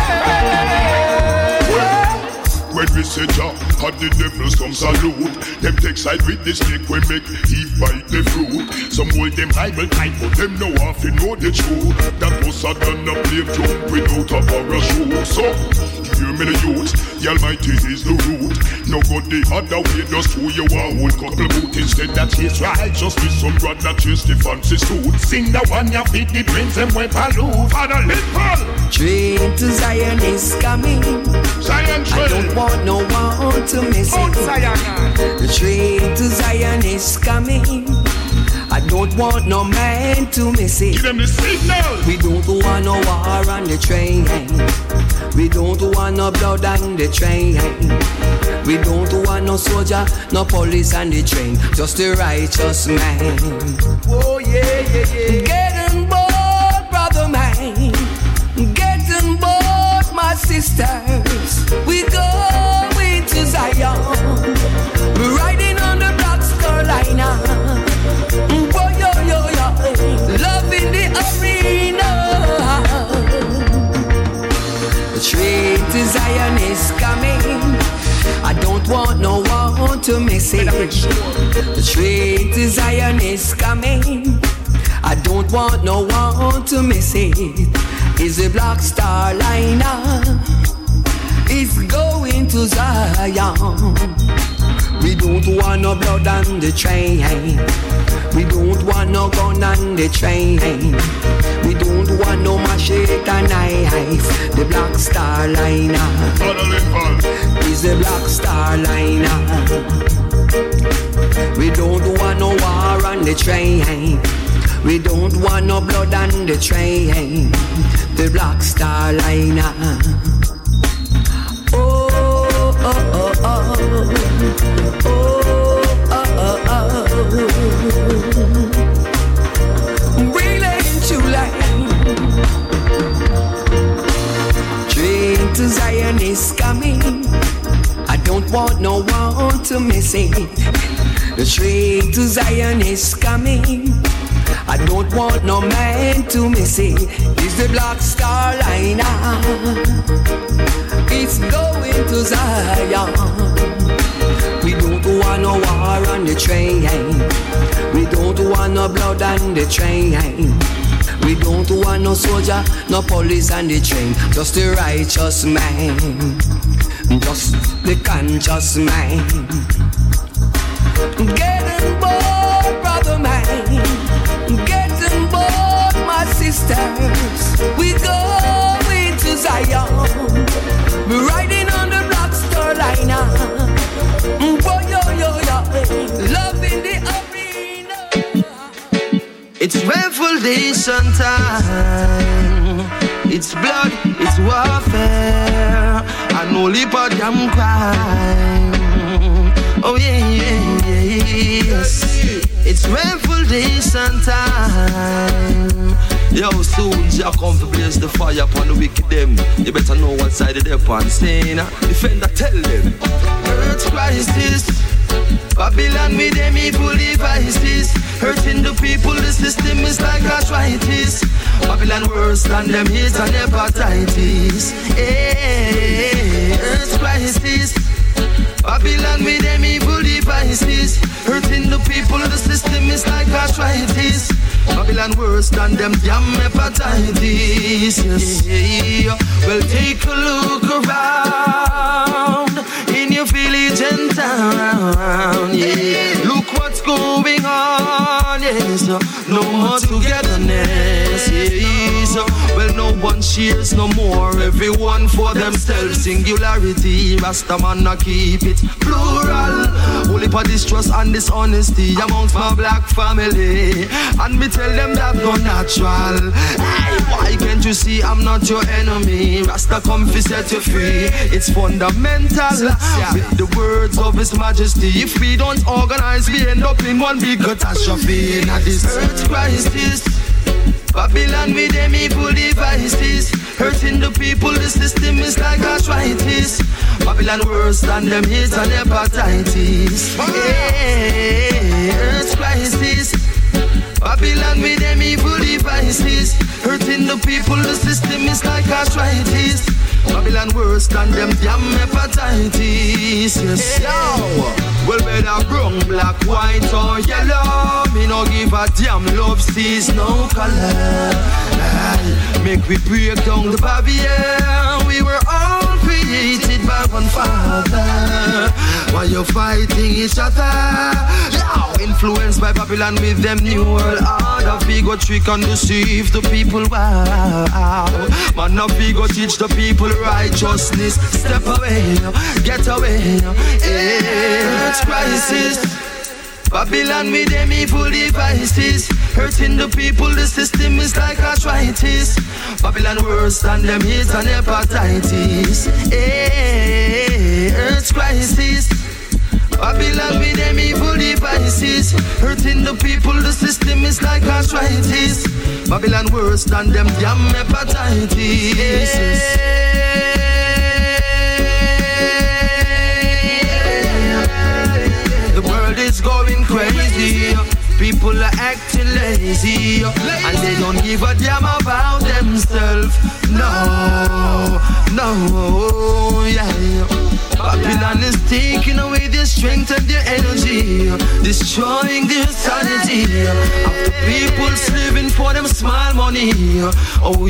When we say Jah, and the devils come salute, them take side with the snake, we make Eve bite the fruit. Some hold them Bible tight, but them know half you know the truth. That was a gun a play jump without a parachute. So, hear me the youth, the Almighty is the root. No good the other way, just who you are, whole couple boot. Instead that chase righteousness, some brother chase the fancy suit. Sing the one you feed the prince and we pollute. Father little Train to Zion is coming. Zion train. I don't want no one to miss it. The train to Zion is coming. I don't want no man to miss it. Give them the signal. We don't want no war on the train. We don't want no blood on the train. We don't want no soldier, no police on the train. Just the righteous man. Oh yeah, yeah, yeah. Get on board, brother man. Get on board, my sisters. We going to Zion. We're riding on the Black Star liner. Boy, yo, yo, yo. Love in the arena. The train to Zion is coming. I don't want no one to miss it. The train to Zion is coming. I don't want no one to miss it. It's a Black Star liner. It's going to Zion. We don't want no blood on the train. We don't want no gun on the train. We don't want no machete and knife. The Black Star liner is the Black Star liner. We don't want no war on the train. We don't want no blood on the train. The Black Star liner. Oh, oh, oh, oh. Oh, oh, oh, oh. Brilliant July. Train to Zion is coming. I don't want no one to miss it. The train to Zion is coming. I don't want no man to miss it. It's the Black Star liner. It's going to Zion. We don't want no war on on the train. We don't want no blood on the train. We don't want no soldier, no police on the train. Just the righteous man, just the conscious man. Get on board, brother man. Get on board, my sisters. We going to Zion. We're riding on the Black Star Liner. Boy, yo, yo, yo. Love in the arena. It's revolution time. It's blood, it's warfare. And only for them crime. Oh yeah, yeah, yeah, yes. It's revolution time. Yo, soon Jah come to blaze the fire upon the wicked them. You better know what side of they're on. Saying, defender, tell them. Earth crisis, Babylon with them evil devices. Hurting the people, the system is like arthritis. Babylon worse than them hate and hepatitis. Hey, earth crisis, Babylon with them evil devices. Hurting the people, the system is like arthritis. Babylon worse than them damn hepatitis. Yes. Yeah. Well, take a look around in your village and town. Yeah. Look what's going on. Yes. No more togetherness. Yes. Well, no one shares no more. Everyone for themselves. Singularity. Rastaman a keep it plural. Only for distrust and dishonesty amongst my black family. And me tell them that no natural. Hey, why can't you see I'm not your enemy? Rasta come fi set you free. It's fundamental. With the words of His Majesty, if we don't organize, we end up in one big catastrophe. Now this earth crisis, Babylon with them evil devices. Hurting the people, the system is like arthritis. Babylon worse than them hate and hepatitis. Hey, earth crisis, Babylon with them evil devices. Hurting the people, the system is like arthritis. Babylon worse than them damn hepatitis. Yes. Yo. Well, better brown, black, white or yellow. Me no give a damn, love sees no color. Aye. Make we break down the barrier. We were all created by one Father. Why you fighting each other? Now influenced by Babylon with them new world order. We go trick and deceive the people. Wow. Man, now we go teach the people righteousness. Step away, get away. Earth crisis, Babylon with them evil devices. Hurting the people, the system is like arthritis. Babylon worse than them hate and hepatitis. Hey, earth crisis, Babylon with them evil devices. Hurting the people, the system is like arthritis. Babylon worse than them damn hepatitis. The world is going crazy. People are acting lazy, and they don't give a damn about themselves. No, no, yeah. Babylon is taking away their strength and their energy, destroying their sanity. After people's living for them small money. Oh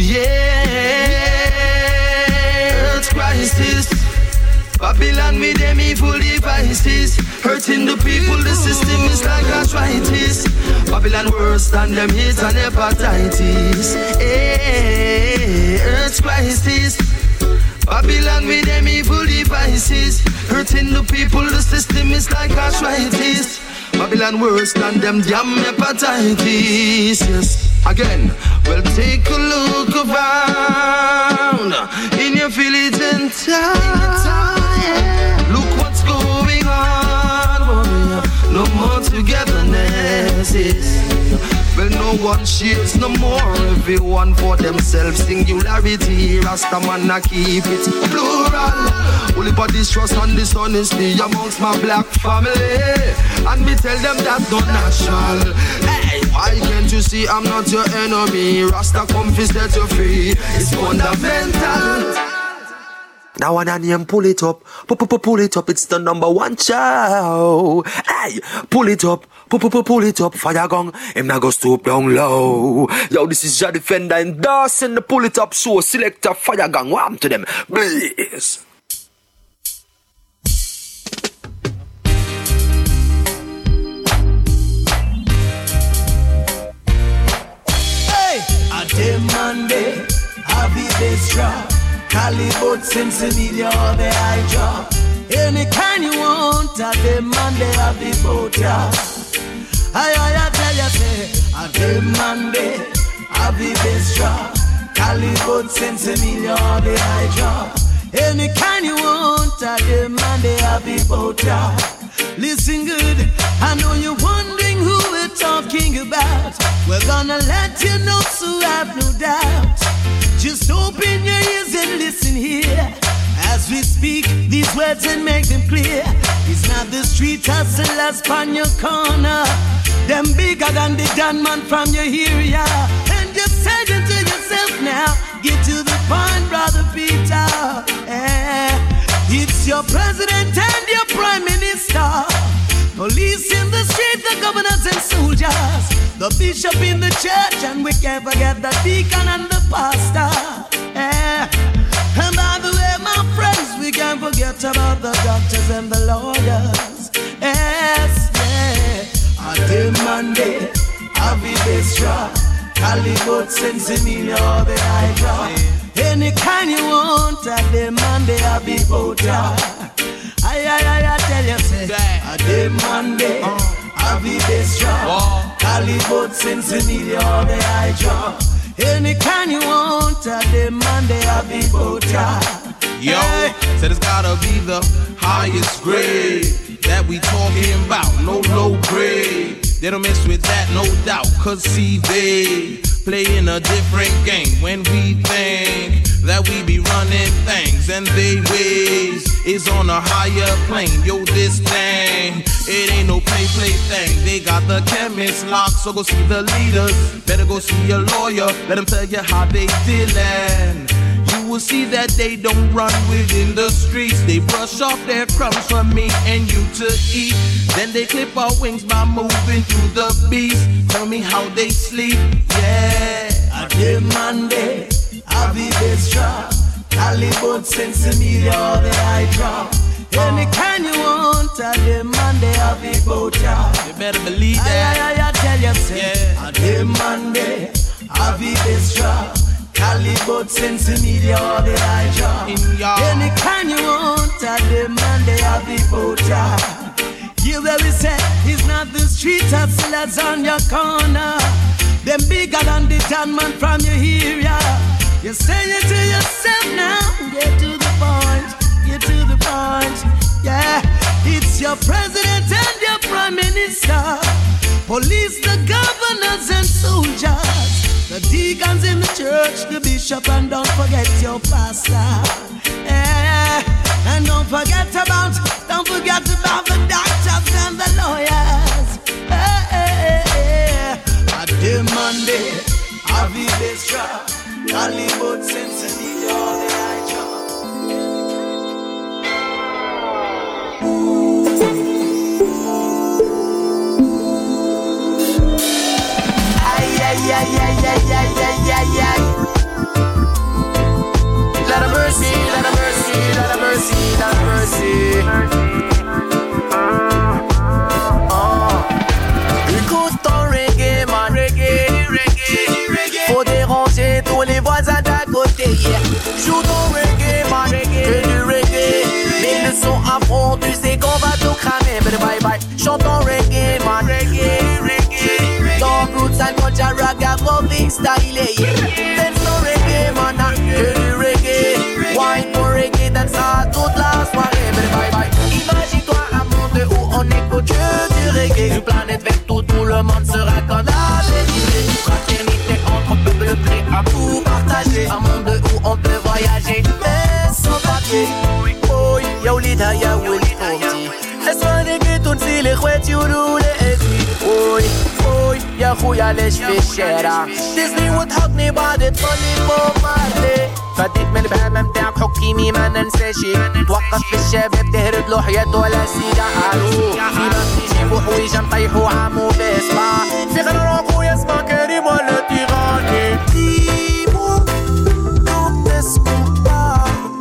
yeah, earth crisis, Babylon with them evil devices. Hurting the people, the system is like arthritis. Babylon worse than them hate and hepatitis. Hey, earth crisis, Babylon with them evil devices. Hurting the people, the system is like arthritis. Babylon worse than them damn hepatitis. Yes. Again, well, take a look around in your village and town. Look what's going on, boy. No more togetherness. Well, no one shares no more. Everyone for themselves. Singularity. Rastaman a keep it plural. Only for distrust and dishonesty amongst my black family. And me tell them that's not natural. Hey, why can't you see I'm not your enemy? Rasta come fi set you free. It's fundamental. Now when I name pull it up, pull it up, it's the number one show. Hey, pull it up, pull it up, fire gong, him not go stoop down low. Yo, this is Jah Defender endorsing the pull it up show. Selector fire gang, warm to them, please. Hey, a day Monday, I'll be this drop. Cali boots and Semilia, all the high job. Any kind you want, I demand they have the boat, yeah. I, I, I tell you, say, I demand they have the best job. Cali boots and Semilia, all the high job. Any kind you want, I demand they have the boat, yeah. Listen good, I know you're wondering who we're talking about. We're gonna let you know, so have no doubt. Just open your ears and listen here as we speak these words and make them clear. It's not the street hustlers on your corner, them bigger than the gunman from your area. And just say it to yourself now, get to the point, brother Peter. Eh, it's your president and your prime minister, police in the street, the governors and soldiers, the bishop in the church, and we can't forget the deacon and the pastor. Eh. And by the way, my friends, we can't forget about the doctors and the lawyers. Yes, yeah. I demand it, I'll be best job. Cali boots and Semilia, all the high job. Any kind you want, I demand it, I'll be both job. I, I, I, I tell you, say, I demand it, I'll be best job. Cali boots and Semilia, all the high job. Any kind you want, I demand it, I'll be both job. Yo, said it's gotta be the highest grade that we talking about, no low grade. They don't mess with that, no doubt, cause see they playing a different game when we think that we be running things and they ways is on a higher plane. Yo, this thing, it ain't no play play thing. They got the chemist locked, so go see the leaders. Better go see a lawyer, let them tell you how they feeling. You will see that they don't run within the streets. They brush off their crumbs for me and you to eat. Then they clip our wings by moving to the beast. Tell me how they sleep, yeah. I demand it, I'll be best job. Cali boots and Semilia, all the high drop. Any kind you want, I demand it, I'll be both job. You better believe that. I, I, I, I tell you, say, yeah. I demand it, I'll be best job. Cali boots and Semilia, all the high job. Any kind you want, I demand it, I'll be both job. You very say, it's not the street hustlers on your corner, them bigger than the gunman from your area. You say it to yourself now, get to the point, get to the point. Yeah, it's your president and your prime minister, police, the governors and soldiers, the deacons in the church, the bishop, and don't forget your pastor. Yeah, and don't forget about, don't forget about the doctors and the lawyers. Hey, hey, hey. I demand it, I'll be this job. Cali boots and Semilia, all the high job. Ay, ay, ay, ay, ay, ay, ay, ay. Lot of mercy, lot of mercy, lot of mercy, lot of mercy. Oh. Écoute ton reggae, man, reggae, reggae, reggae. Faut déranger tous les voisins d'à côté, yeah. Joue ton reggae, man, reggae, que du reggae. Mais le son à fond, tu sais qu'on va tout cramer, bye bye bye. Chante ton reggae, man, reggae, reggae. Ton roots and culture, raga, rolling style, yeah. Dance ton reggae, man, que du reggae. Wine pour reggae, dance à toute la soirée, bye bye bye. Imagine-toi un monde où on écoute que du reggae. Une planète verte où tout le monde sera comme la vérité. Fraternité entre peuples prêts à tout partager. Un monde où on peut voyager, mais sans papier. Oh, y'a Olida, y'a Willy Ponty. Laisse-moi déguer tout si les chouettes, you do les essuies. Oh, oh, y'a Rouya, les cheveux chers. Disney would hug me, but it's funny for my day. فديت من البهمة متاعك حكيمي ما ننساشي توقف في الشباب تهرب له حياته ولا سيجا عالو فيما بيجيبو حويجة مطيحو عامو باسمع في غير روكو يسمع كريم ولا تيغاني ديمو دون تسكوبا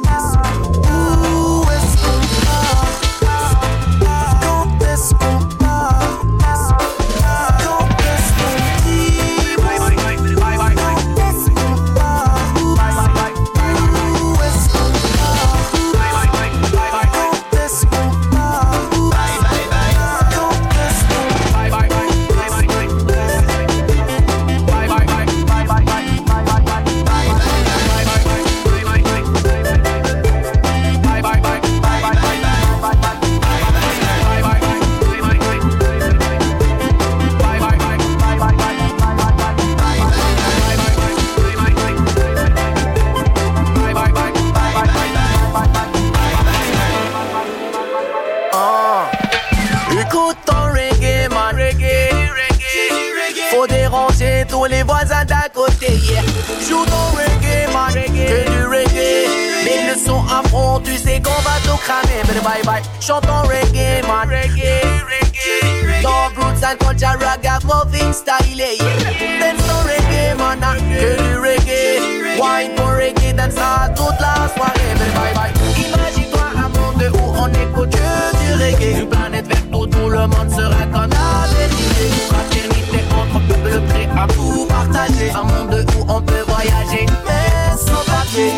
tous les voisins d'à côté, yeah. Joue ton reggae, man, que du reggae. Mais le son à fond, tu sais qu'on va tout cramer. Mais bye bye, chante ton reggae, man, reggae, reggae. Dog roots and culture, ragamuffin style, yeah. Dance ton reggae, man, que du reggae. Wine pour reggae, dance à toute la soirée. Mais bye bye, imagine-toi un monde où on écoute que du reggae. Une planète verte où tout le monde sera comme la vérité. Fraternité entre peuples prêts à tout partager. Un monde où on peut voyager, mais sans papier.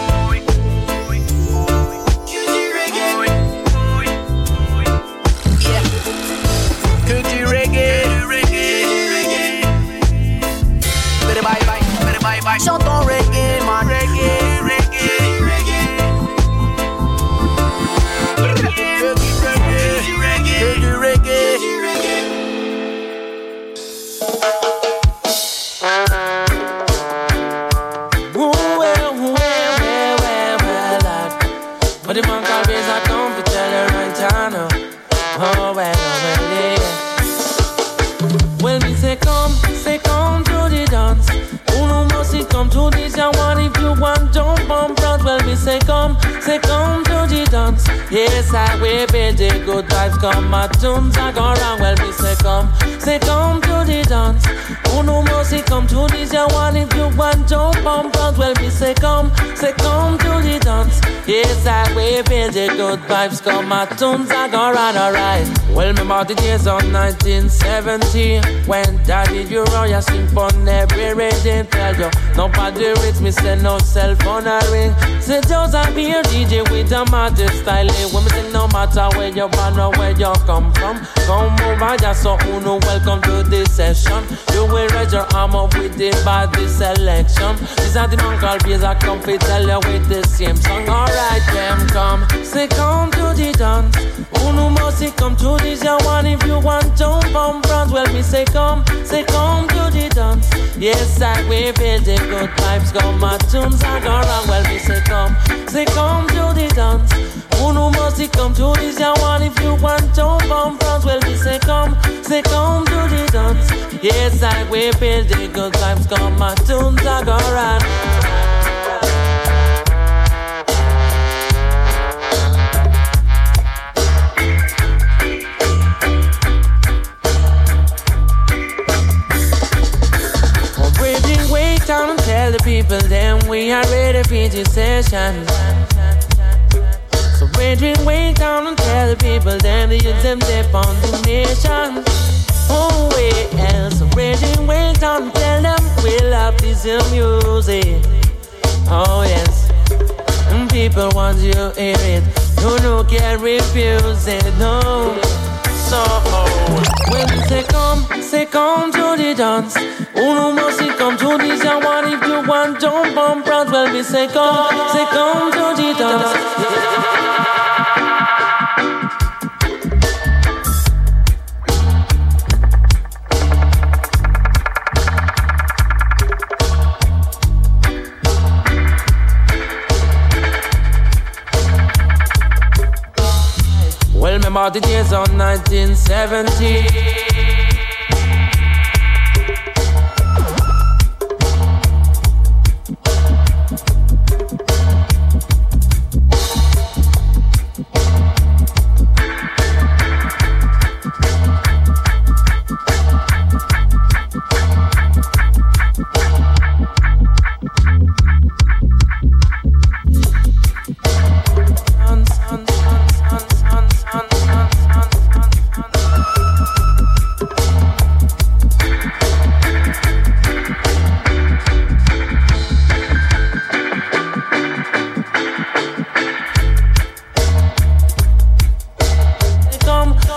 Que du reggae, bye bye, bye bye, bye. Chantons reggae, man, reggae, reggae, reggae. Que du reggae, que du reggae. But the man called Bass, I come to tell her right I know. Oh, well, well, yeah. Well, me say come, say come to the dance. Uno must come to this young one if you want jump on front. Well, me say come, say come to the dance. Yes, I will be the good vibes come. My tunes are gone wrong. Well, me say come, say come to the dance. Uno must come to this young one if you want jump on front. Well, me say come, say come to the dance. Yes, I will be the good vibes come. My tunes are gone right, alright. Well, remember the days of nineteen seventy when Daddy Uriah sing on every radio. Tell you, nobody reads me, say no cell phone a ring. Say just a be a D J with a magic style. When me say no matter where you born or where you come from, come over just so uno welcome to this session. You will raise your arm up with the body selection. This are the man called Bass, I come to tell you with the same song. Alright, them come, say come to the dance. Uno must come to this young one if you want jump on front. Well, me say come, say come to the dance. Yes, I will feel the good vibes come. My tunes are gone wrong. Well, me say come, say come to the dance. Uno must come to this young one if you want jump on front. Well, me say come, say come to the dance. Yes, I will feel the good vibes come. My tunes are gone wrong. Down and tell the people then we are ready for this session. So brethren, wait down and tell the people then the youth them dip on the nation. Oh well, so brethren, wait down and tell them we love this music. Oh yes, and people want you to hear it. You no can refuse it, no. So when you say come, say come to the dance. Uno must come to this young one if you want jump on front. Well, we say come, say come to the dance. Well, remember the days of nineteen seventy.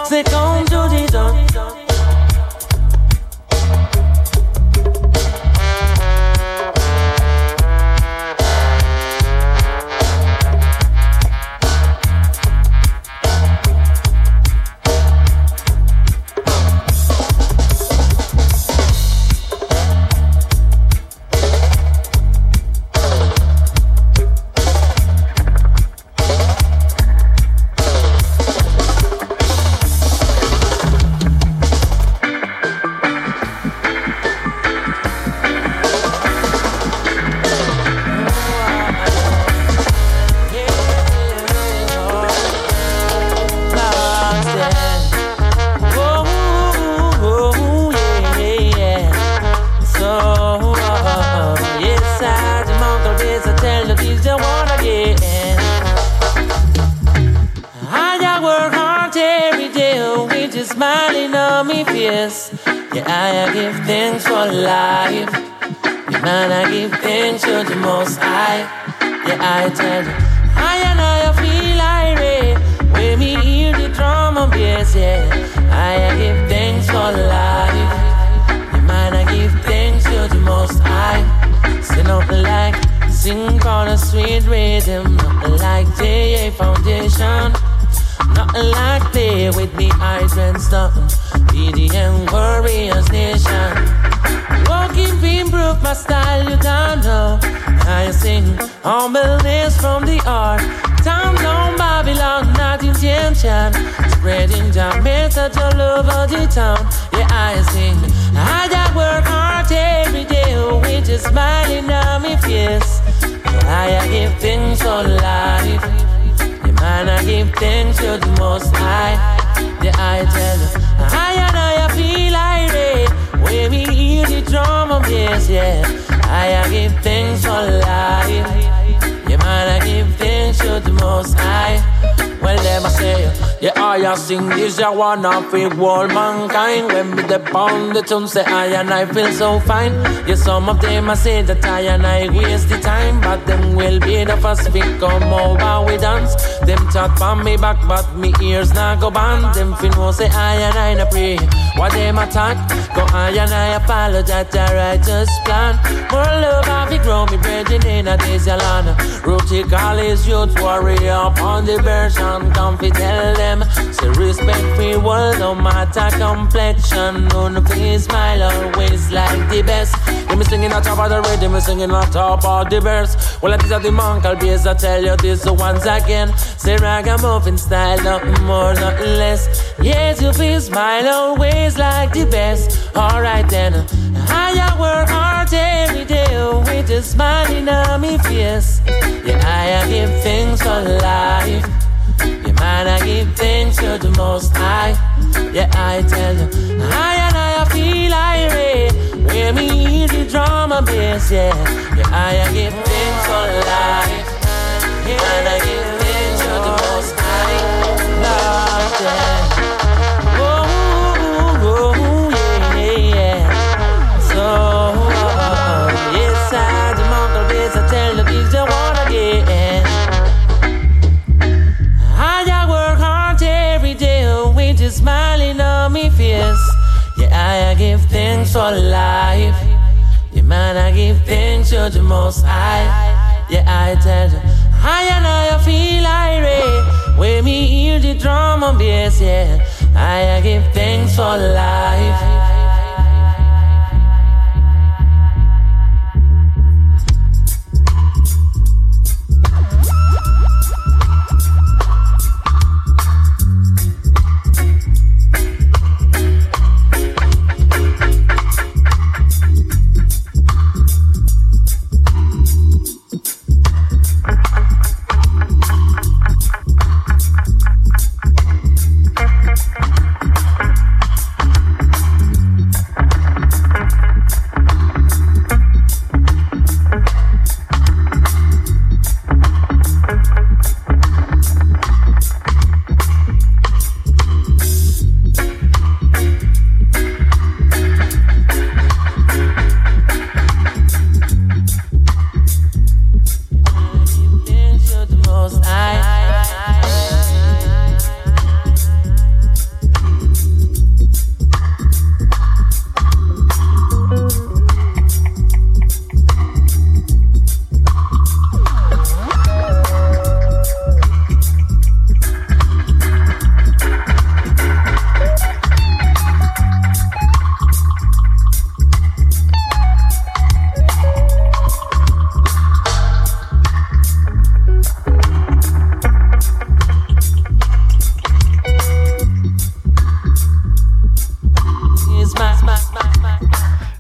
Say come to the dawn. Smiling on me face. Yeah, I give thanks for life. Yeah, man, I give thanks to the Most High. Yeah, I tell you, I and I feel irate when me hear the drum and bass. Yeah, I give thanks for life. Yeah, man, I give thanks to the Most High. Say nothing like sing on a sweet rhythm, nothing like J A Foundation. Nothing like play with me eyes and stuff. B D M Warriors Nation. Walking beam proof my style, you don't know. I sing humbleness from the heart. Down down Babylon, not intention. Spreading the message all over the town. Yeah, I sing. I that work hard every day with a smiling on my face. Yeah, I give things for life. Man, I give thanks to the Most High. Yeah, I tell you, I and I feel irate when we hear the drum and bass. Yeah, I give thanks for life. Yeah, man, I give thanks to the Most High. Well, let me say, yeah, I sing this, I wanna feel all mankind. When me dip on the tune, say I and I feel so fine. Yeah, some of them I say that I and I waste the time, but them will be the first pick come over we dance. Them chat on me back, but me ears not go band. Them fin know say I and I na pray. What them attack, go I and I apologize, the righteous plan. More love have we grow me brethren in a days yalana. Rooty college youth warrior upon the version. Come fi tell them, say respect free world no matter complexion. None please smile always like the best. Let me singing on top of the rhythm, me singing on top of the verse. Well, it is at the Monkal base, I tell you this once again. Say ragamuffin style, nothing more, nothing less. Yes, you feel smile always like the best. Alright then, I work hard every day with a smiling on me face. Yeah, I give things for life. Yeah, man, I give thanks to the Most High. Yeah, I tell you, I and I feel irate when me hear the drum and bass. Yeah, yeah, I give thanks for life. Yeah, man, I give thanks to the Most High. Lord, yeah. Oh, oh, oh, yeah, yeah. So, oh, yes, I, the Monkal base, I tell you, this you wanna get. Just smiling on me face. Yeah, I give thanks for life. Yeah, man, I give thanks to the Most High. Yeah, I tell you, I and I feel irate when me hear the drum and bass. Yeah, I give thanks for life.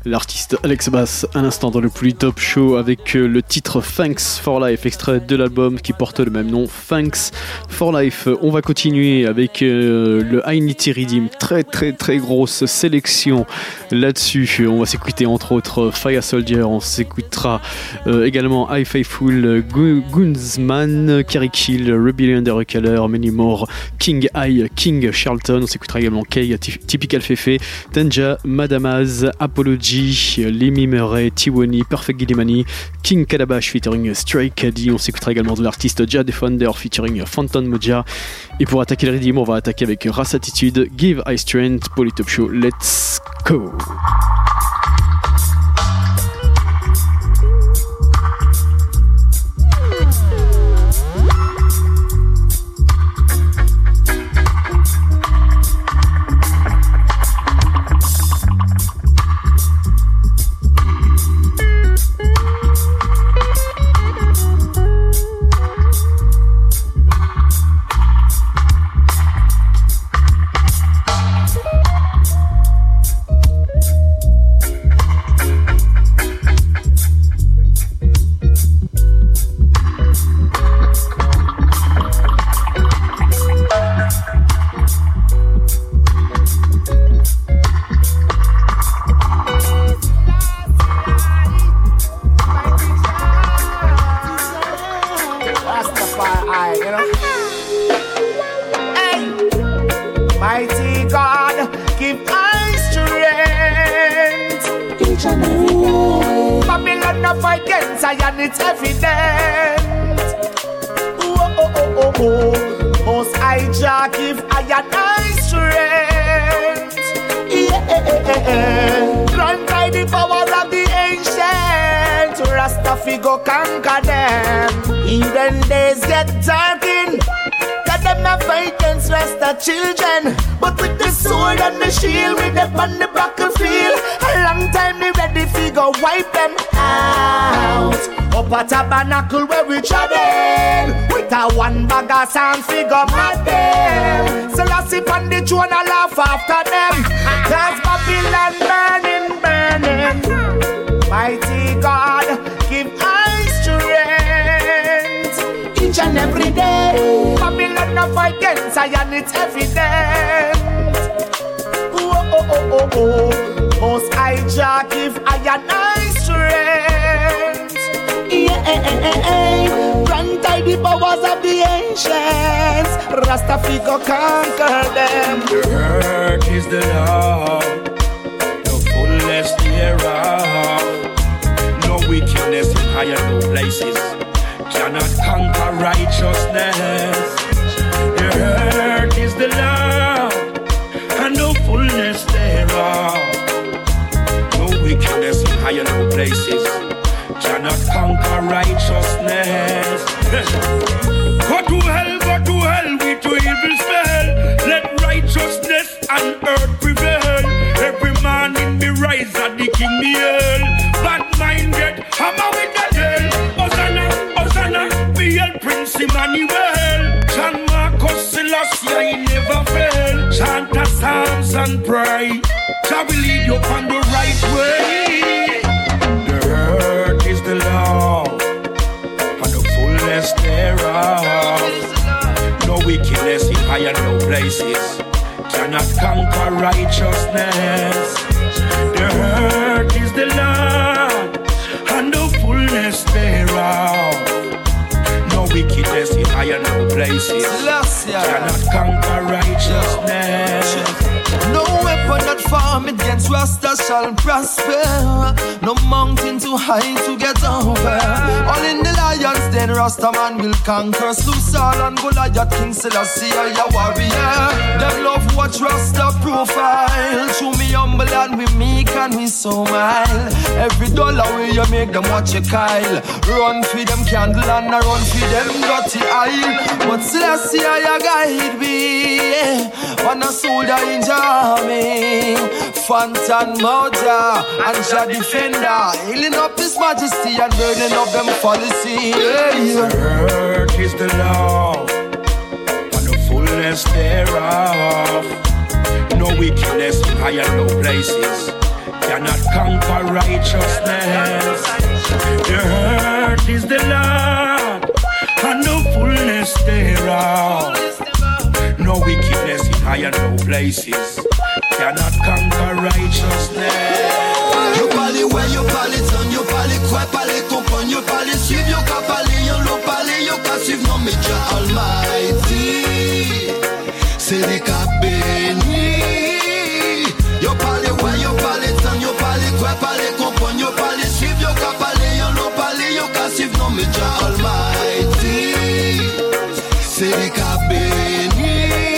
L'artiste Alex Bass à l'instant dans le Polytop Show avec le titre Thanks for Life, extrait de l'album qui porte le même nom, Thanks for Life. On va continuer avec euh, le I Need to Redeem, très très très grosse sélection là-dessus. On va s'écouter entre autres Fire Soldier, on s'écoutera euh, également I Faithful, Gunsman, Kerry Kill, Rebellion Under a Color, Many More, King I, King Charlton, on s'écoutera également Kay, Typical Fefe, Tanja, Madamaz, Apology, Lemmy Murray, Tiwani, Perfect Gilimani, King Calabash featuring Stray Caddy, on s'écoutera également de l'artiste Ja Defender featuring Phantom Moja. Et pour attaquer le Redeem, on va attaquer avec Race Attitude, Give I Strength, Polytop Show, let's go! Children, but with the sword and the shield, with them on the battlefield, a long time they ready to go wipe them out. Up a tabernacle where we travel, with a one bag of sand figure mad them. So I sit on the throne and laugh after them. Cause Babylon burning, burning. Mighty God, give I strength each and every day. Babylon no fight against Zion, it's evident. Oh, oh, oh, oh, oh. Most I Jah give I and I strength. Yeah, grant I the powers of the ancients. Rastafari go conquer them. The earth is the law, the fullness thereof. No wickedness in higher no places cannot conquer righteousness. The earth is the law, and no fullness thereof. No wickedness in higher no places cannot conquer righteousness. Go to hell, go to hell with your evil spell. Let righteousness and earth prevail. Every man in me rise at the king me hail. Bad mind get hammer with the hell. Hosanna, Hosanna, be el Prince Emmanuel. John Marcus Selassie, I never fail. Chant the psalms and pray. Shall we lead you on the right way? The earth is the law, and the fullness thereof. No wickedness in higher no places cannot conquer righteousness. The earth is the land, and the fullness thereof. No wickedness in higher no places cannot conquer righteousness. No weapon that form against Rasta shall prosper. No mountain too high to get over. All in the lions den Rasta man will conquer. Slew Saul and Goliath, King Selassie are your warrior. Them love watch Rasta profile. Show me humble and we meek and we so mild. Every dollar where you make them watch your Kyle. Run for them candle and a run for them dirty aisle. But Selassie are your guide me. On a soldier in Jamie, Phantom Moja and Jah Defender, healing up His Majesty and burning up them policy. The earth is the law, and the fullness thereof. No wickedness in higher no places cannot conquer righteousness. The earth is the Lord, and the fullness thereof. No wickedness in higher no places cannot conquer righteousness. You parle ouais, you parle ton, you parle quoi, parle comprendre, you parle suivre, you ka parle, you lo parle, you ka suivre, non mais Dieu Almighty, c'est les ka béni. You parle ouais, you parle ton, you parle quoi, parle comprendre, you parle suivre, you ka parle, you lo parle, you ka suivre, non mais Dieu Almighty, c'est les ka béni.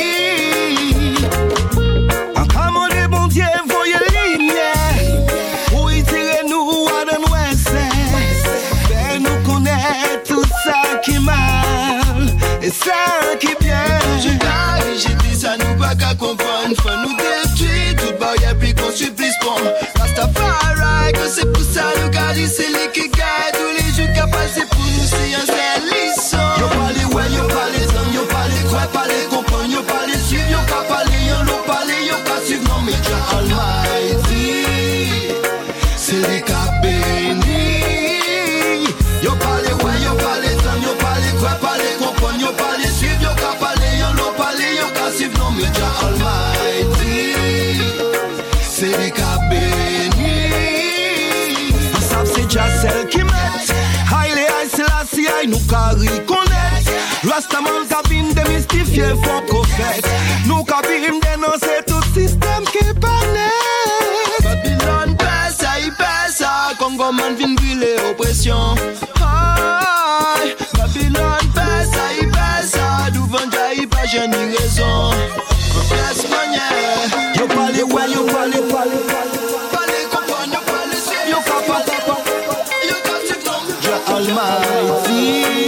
Et ça qui vient, je t'arrive, j'ai dit ça nous pas qu'à comprendre. Faut nous détruire, tout barrière puis qu'on supplice pour Rastafari, que c'est pour ça nous garder, c'est les qui gagnent. Tous les jours qu'à passer pour nous, c'est un seul lisson. Yo parle ouais, yo parle zone, yo parle quoi, parle comprendre, yo parle suivre, yo qu'à parler, yo l'on parle, yo qu'à suivre, non mais Dieu Almighty, c'est les qu'à béni. Yo parle ouais, yo parle zone, yo parle quoi, parle comprendre, yo parle suivre, yo qu'à parler, yo l'on parle, yo qu'à suivre, non mais Dieu Almighty, c'est les qu'à béni. Ils savent c'est déjà celle qui met Haile Selassie, I nous qu'à reconnaître Rastaman cabine démystifié, faut qu'on fait nous cabine dénoncer tout système qui est pas net. Babylone pèse, il pèse, Congo man vient brûler oppression. Aïe, Babylone pèse, il pèse, d'où vendre, il pas j'ai ni raison. Yes, manière, yo parle ouais, yo parle, parle, parle, parle, comprendre, yo parle, yo capable, yo capable, Dieu Almighty.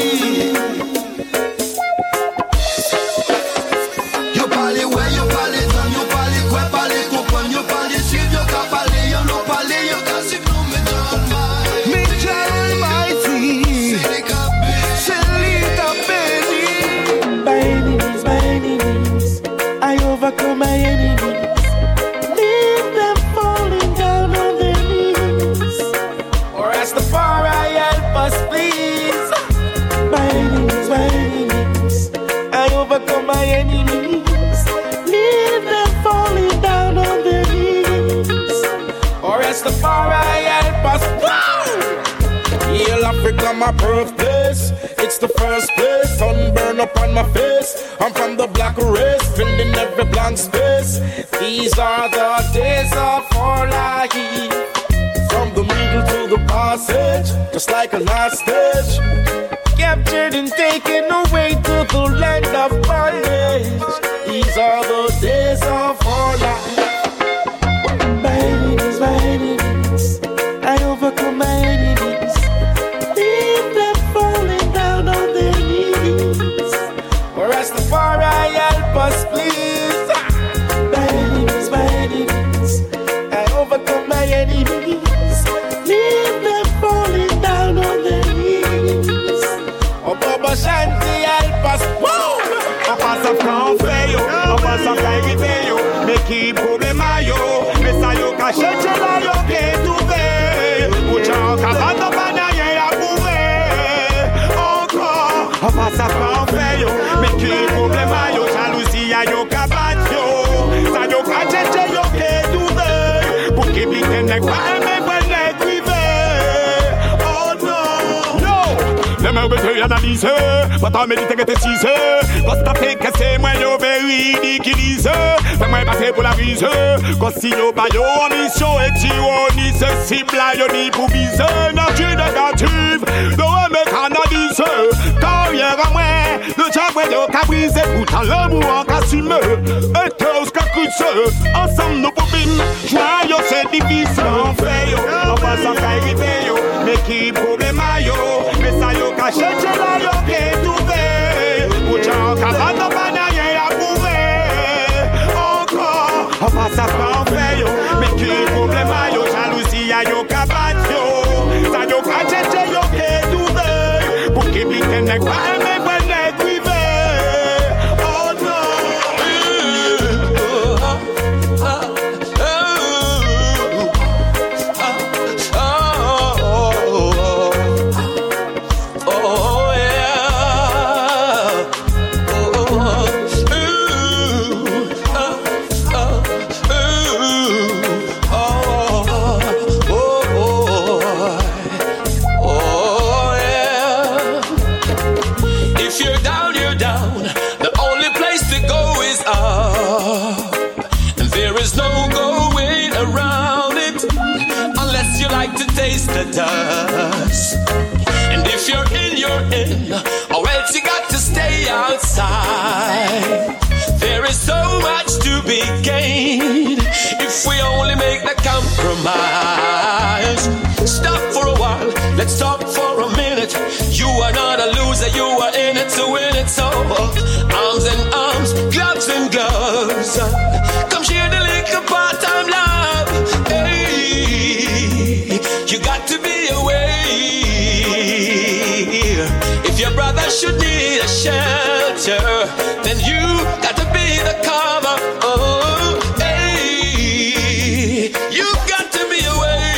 Yo parle ouais, yo parle, yo parle quoi, parle, comprendre, yo parle, suivre, yo capable, yo l'on parle, yo capable, mais Dieu Almighty, c'est les capés, c'est les capés. By enemies, by enemies, I overcome my enemies. Leave them falling down on their knees. Or as the far I help us, please. My enemies, my enemies, I overcome my enemies. Leave them falling down on their knees. Or as the far I help us, wow! Heal Africa, my birthplace. It's the first place, sunburn up on my face. I'm from the black race, filling every blank space. These are the days of our life. From the middle to the passage, just like a hostage. Captured and taken away to the land of bondage. These are the days of our life. My enemies, my enemies, I overcome my enemies. Leave them falling down on their knees. Or as the far I help us, please. My enemies, my enemies, I overcome my enemies. Leave them falling down on their knees. Oh, Baba Shanti, help us. Woo! On passe à France, yo. On passe à Kairi, yo. Mais qui problème a yo? Mais ça yo caché, c'est là yo qui est trouvé. Pouchon, cabane, pas rien à prouver. Encore. On passe à France, yo. Mais qui problème a yo? Jalousie a yo cabane, yo. Ça yo caché, c'est yo qui est trouvé. Pour qui pique n'est pas aimé, pas n'est privé. Oh non. No. Les mains besoin d'analyser. Pas tant méditer que t'es cisé. Constater que c'est moi yo ridiculise. Fais-moi passer pour la brise. Quand si yo pas yo en mission et si on ni ce cible yo ni pour viser. Nature négative, no me canalise. Carrière à moi, le diable yo qu'a brisé. Pourtant l'amour en qu'assume. Et tous qu'a couché. Ensemble nous pouvons joyeux c'est divisé. On fait yo, on passe en Kairi yo. Mais qui problème a yo? Mais ça yo caché, c'est là yo qui est trouvé. Pouchon, cabane, pas rien à prouver. Encore, on passe à quoi on fait yo. Mais qui problème a yo? Jalousie a yo cabane yo. Ça yo caché, c'est yo qui est trouvé. Pour qui pique n'est pas aimé, pas n'est privé. Oh non. taste the dust. And if you're in, you're in, or else you got to stay outside. There is so much to be gained if we only make the compromise. Stop for a while, let's talk for a minute. You are not a loser, you are in it to win it. So arms and arms, gloves and gloves, come share the little part-time love. Hey, you got to be aware. If your brother should need a shelter, then you got to be the cover. Oh, hey, you got to be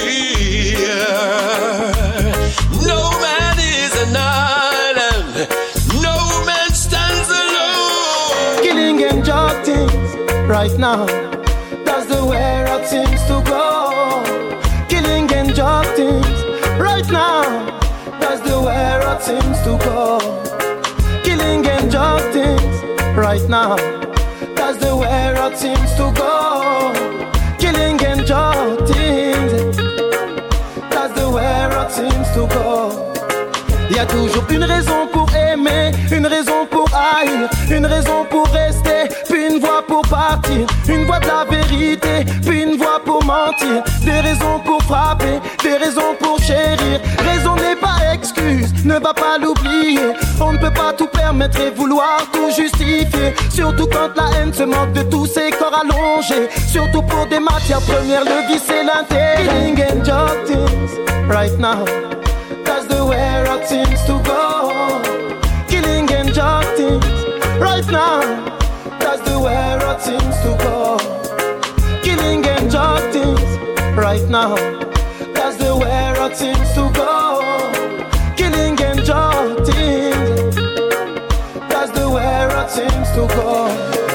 aware. No man is an island. No man stands alone. Killing and jotting right now. That's the way it seems to go. Killing and jotting right now. That's the way it seems to go. Killing and jotting right now. That's the way it seems to go. Killing and jotting. That's the way it seems to go. Il y a toujours une raison pour aimer, une raison pour haïr, une raison pour rester, puis une voix pour partir, une voix de la vérité, puis une voix pour mentir, des raisons pour frapper, des raisons pour chérir. Raison n'est pas excuse, ne va pas l'oublier. On ne peut pas tout permettre et vouloir tout justifier, surtout quand la haine se moque de tous ces corps allongés, surtout pour des matières premières, le vice et l'intérêt. Killing and justice right now. That's the way it seems to go. Killing and justice right now. That's the way it seems to go. Killing and justice right now. That's the way it seems to go. Killing and justice. That's the way it seems to go.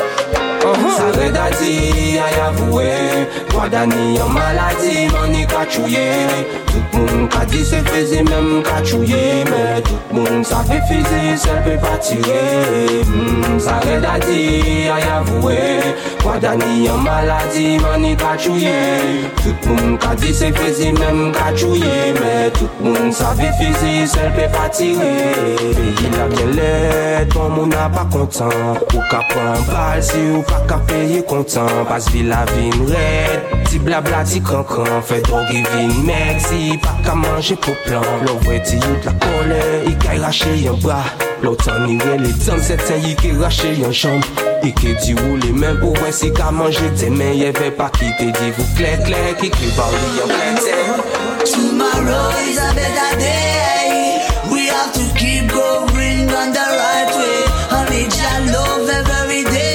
Ça redati, ay avoué, quoi d'année en maladie, m'en est cachouillé. Tout le monde a dit c'est faisé même cachouillé, mais tout le monde savait faisé, ça peut pas tirer. Ça redati, ay avoué, quoi d'année en maladie, m'en est cachouillé. Tout le monde a dit c'est faisé même cachouillé, mais tout le monde savait faisé, ça peut pas tirer. Il a bien l'aide, ton monde n'a pas content, ou qu'à prendre balle si ou pas qu'à payer content, parce que la vie m'raide, ti blabla ti cancan, fait drogue et vin mec, si pas qu'à manger pour plan, l'ouvre ti you de la colère, il qu'à racher un bras, l'autre en irait les temps, c'est un y qui racher un chambre, il qui dit roule les mains pour voir si qu'à manger tes mains, y'avait pas qui te dit vous clair clair, qui qui barri en plein terre. Tomorrow is a better day, we have to keep going on the right way, honey just love every day.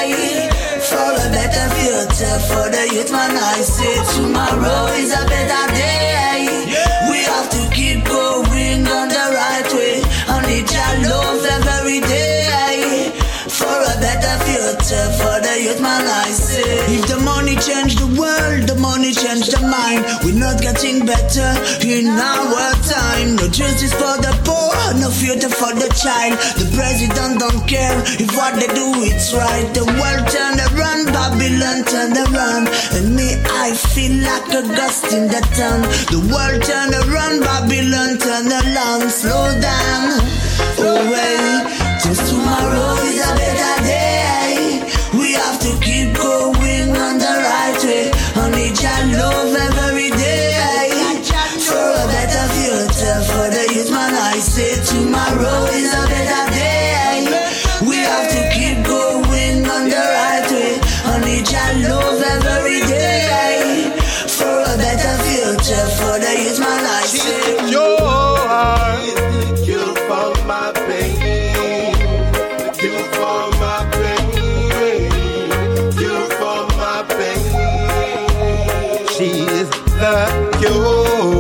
For the youth, man, I say tomorrow is a better day. We have to keep going on the right way. And need your love every day. For a better future, for the youth, man, I say. If the money change the world, the money change the mind. We're not getting better in our time. No justice for the poor, no future for the child. The president don't care if what they do it's right. The world turn around, Babylon turn around, and me I feel like a ghost in the town. The world turn around, Babylon turn around. Slow down, oh wait, just tomorrow is a better day. We have to keep going on the right way. I need your love every day. For a better future, for the youth, man, I say tomorrow is a better day. We have to keep going on the right way. I need your love every day. For a better future, for the youth, man, I say. Your heart is the cure for my pain. The cure for my pain. Cure for my pain. She's the cure.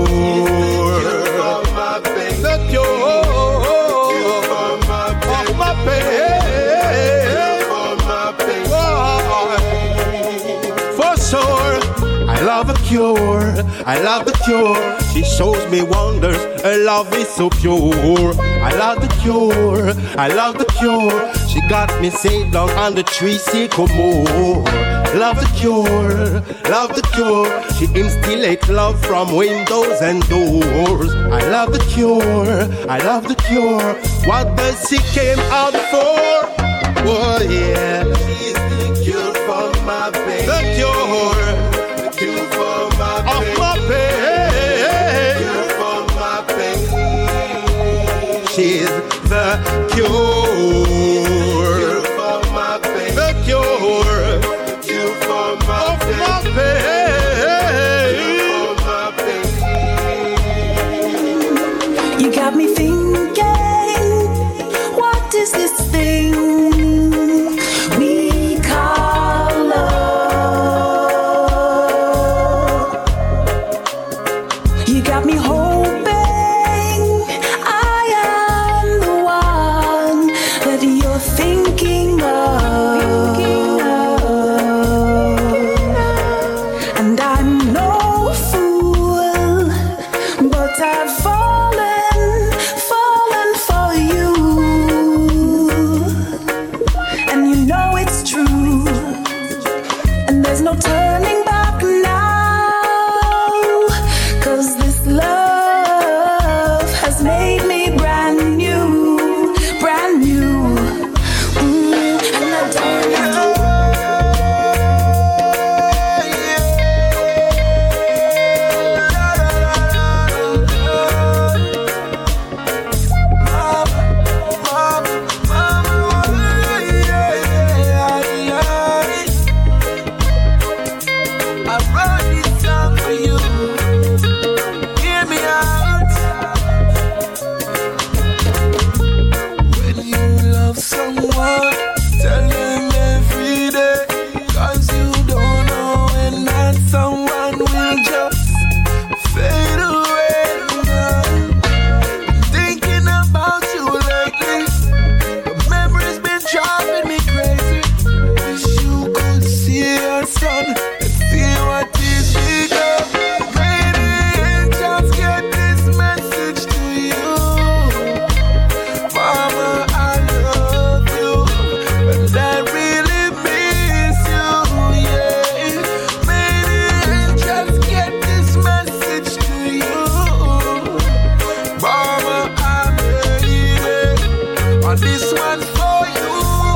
I love the cure. She shows me wonders. Her love is so pure. I love the cure. I love the cure. She got me saved down on the tree sycamore. love the cure, love the cure. She instillates love from windows and doors. I love the cure, I love the cure. What does she came out for? Oh yeah, she's the cure for my pain. The cure, the cure for my pain. Of my pain. The cure for my pain. She's the cure, cure for my pain. The cure, cure for my of pain. My pain. Cure for my pain. You got me thinking, what is this thing we call love? You got me hoping I am the one that you're thinking of. And I'm no fool, but I've fallen, fallen for you. And you know it's true. And there's no turning back now. 'Cause this love has made me brand new, brand new. Mm, and I don't know. I wrote this song for you. Hear me out. When you love someone, tell them every day. 'Cause you don't know when that someone will just fade away. Thinking about you lately, the memory's been driving me crazy. Wish you could see your son and see what is become. Maybe angels get this message to you. Mama, I love you, and I really miss you, yeah. Maybe angels get this message to you. Mama, I made it, and this one's for you.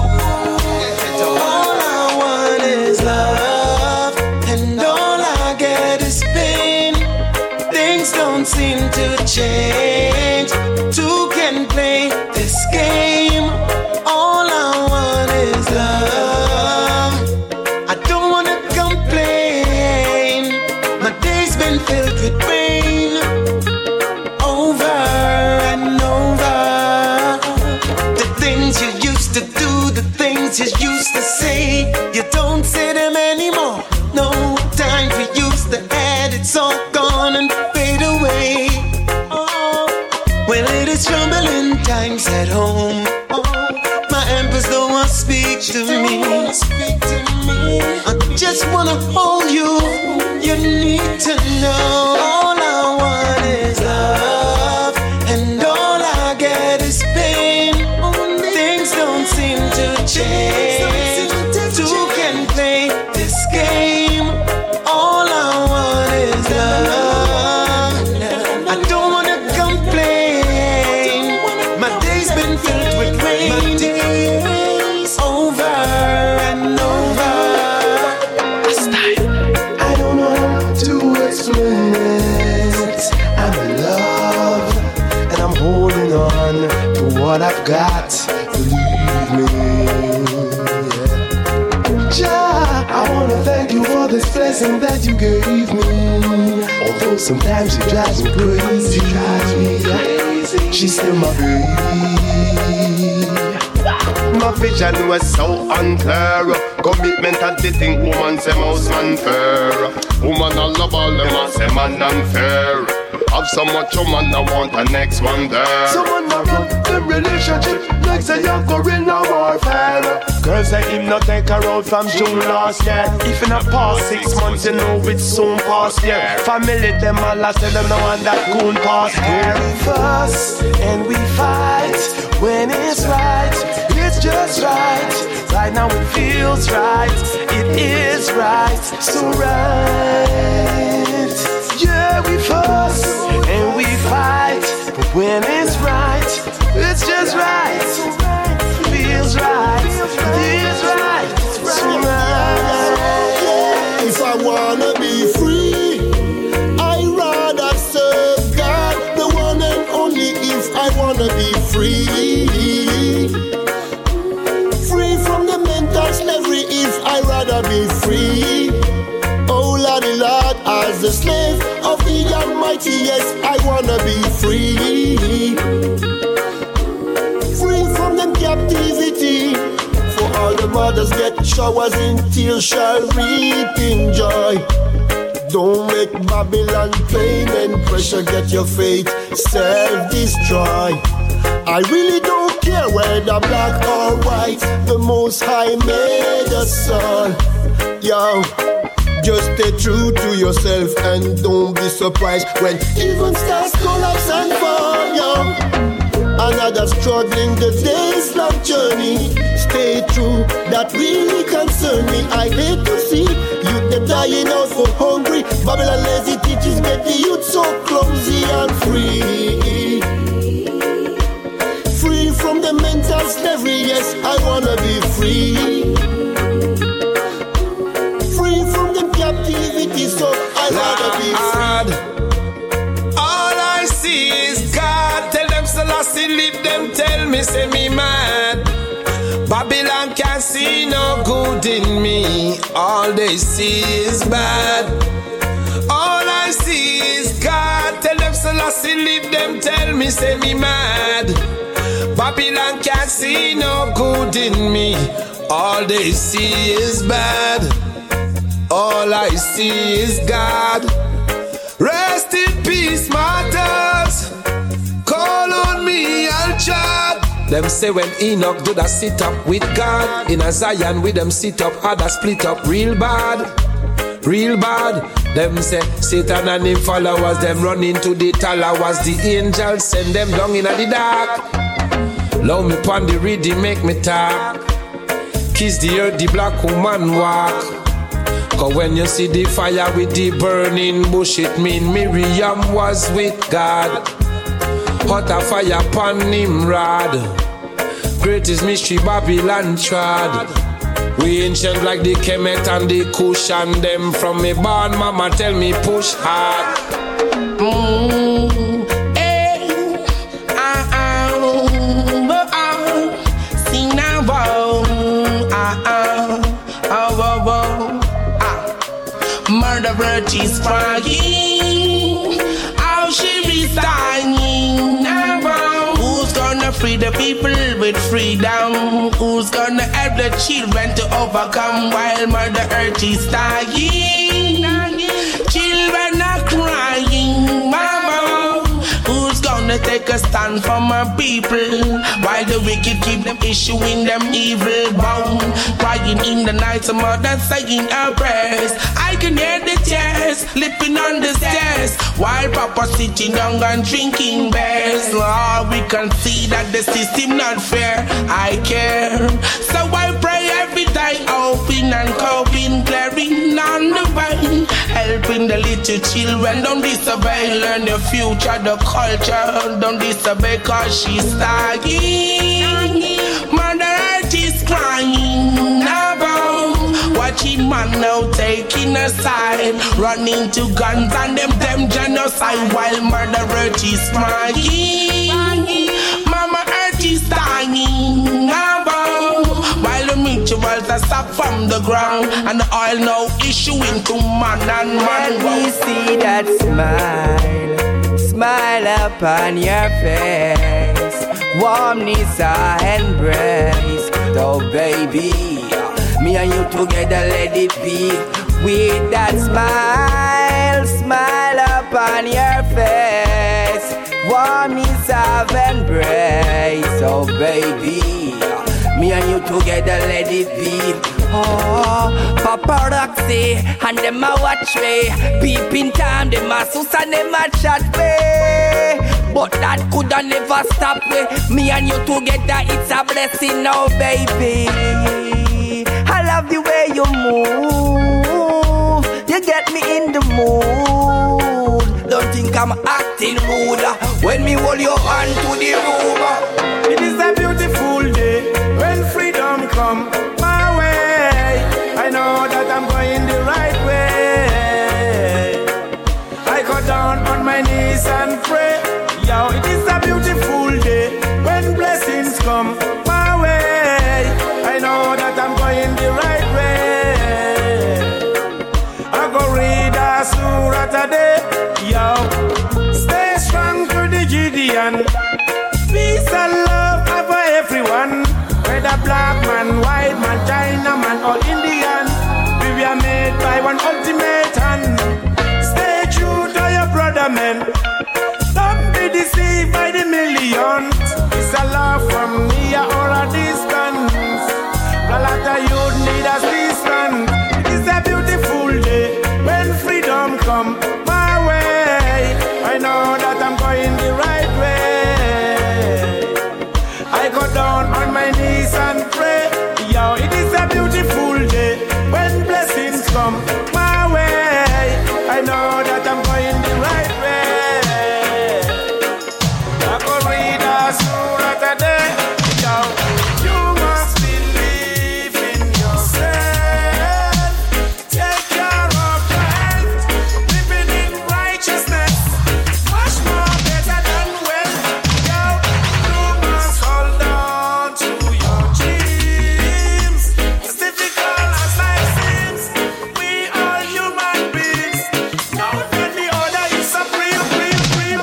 All I want is love, and all I get is pain. Things don't seem to change. Two can play this game. All I want is love. I don't wanna complain. My day's been filled with rain, over and over. The things you used to do, the things you used to say, you don't say them anymore. No time for use the ad, it's all gone and fade away. Oh, well, it is troubling times at home. Oh, my empress don't want to speak to me. I just wanna hold you. You need to know all I want is love, and all I get is pain. Things don't seem to change. Two can play this game. All I want is love. I don't wanna complain. My day's been filled with rain. My days over and over. I don't know how to explain it. I'm in love, and I'm holding on to what I've got. Believe me. Jah, I wanna thank you for this blessing that you gave me. Although sometimes it drives me crazy, drives me crazy. She's still my baby. My vision was so unclear. Commitment at the thing woman say most unfair. Woman I love all them I say man unfair. Have so much woman I want the next one there. Someone I want them relationship like say you're going a warfare. Girls say him not take her out from June last year. If in a past six months you know it's soon past year. Family them all last tell them no one that goon past here. We fuss and we fight when it's right. It's just right. Right now it feels right. It is is right, so right. Yeah, we fuss and we fight, but when it's right, it's just right. Feels right, feels right, so right. If I wanna be free, I rather serve God, the one and only. If I wanna be free, free from the mental slavery. If I rather be free, oh Lordy Lord, as the slave of the Almighty, yes, I wanna be free, free from them captivity. For all the mothers get showers in tears shall reap in joy. Don't make Babylon pain and pressure get your faith self-destroy. I really don't care whether black or white, the Most High made us all. Yo, just stay true to yourself and don't be surprised when even stars collapse and fall, yo. Another struggling the day's long journey. Stay true, that really concern me. I hate to see youth them dying out for hungry. Babylon lazy teachers make the youth so clumsy and free. Free from the mental slavery, yes, I wanna be free. Free from the captivity, so I wanna be free. All I see is God. Tell them Selassie leave them, tell me say me mad. Babylon can't see no good in me. All they see is bad. All I see is God. Tell them Selassie leave them, tell me say me mad. Babylon can't see no good in me. All they see is bad. All I see is God. Rest in peace, martyrs. Call on me, I'll chat. Them say when Enoch do that sit up with God, in a Zion with them sit up, other split up real bad, real bad. Them say Satan and him followers, them run into the towers. The angels send them down in the dark. Love me pon the reading, make me talk. Kiss the earth, the black woman walk. Cause when you see the fire with the burning bush, it mean Miriam was with God. Hot a fire upon Nimrod. Greatest mystery Babylon trod. We ancient like the Kemet and the Kush, and them from me born mama tell me push hard. Mm, eh, ah, ah, oh, ah, sing now, oh, ah, ah, oh, oh, oh, ah. Murderer is crying, how she is dying now. Who's gonna free the people with freedom? Who's gonna help the children to overcome while Mother Earth is dying? Children are crying, mama. Who's gonna take a stand for my people while the wicked keep them issuing them evil bound? Crying in the night, some mother saying her prayers. I can hear the tears slipping on the stairs while Papa sitting down and drinking beers. Oh, we can see that the system not fair. I care, so I pray every day, hoping and coping, clearing on the way, helping the little children. Don't disobey, learn the future, the culture. Don't disobey, cause she's dying. Mother Earth is crying about watching man now taking a side, running to guns and them them genocide while Mother Earth is crying. Mama Earth is dying about while the mutuals are stopped from the ground and the oil now issuing to man and man. When we see that smile, smile upon your face, warmness our embrace. Oh baby, me and you together, let it be. With that smile, smile upon your face, warmness of embrace. Oh baby, me and you together, let it be. Oh, paparazzi, and them a watch me. Peeping time, them a sus and them a chat me. But that coulda never stop me. Me and you together, it's a blessing now, baby. I love the way you move. You get me in the mood. Don't think I'm acting rude when me hold your hand to the room. It is a beautiful day when freedom come my way. I know that I'm going the right way. I go down on my knees and pray. Yo, it is a beautiful day when blessings come my way. I know that I'm going the right way. I go read a surah today. Yo, stay strong to the Gideon. Peace and love for everyone. Whether black man, white man, China man or Indian, we are made by one ultimate hand. Stay true to your brother man. Don't be deceived by the millions. It's a love from near or a distance. A lot of youth need assistance. It is a beautiful day when freedom come my way. I know that I'm going the right way. I go down on my knees and pray. Yo, it is a beautiful day when blessings come my way. I know that I'm going the right way. I go read a surah today. Yo, you must believe in yourself. Take care of your health. Living in righteousness, much more better than wealth. Yo, you must hold on to your dreams. As difficult as life seems, we are human beings. Know that the order is supreme, supreme, supreme.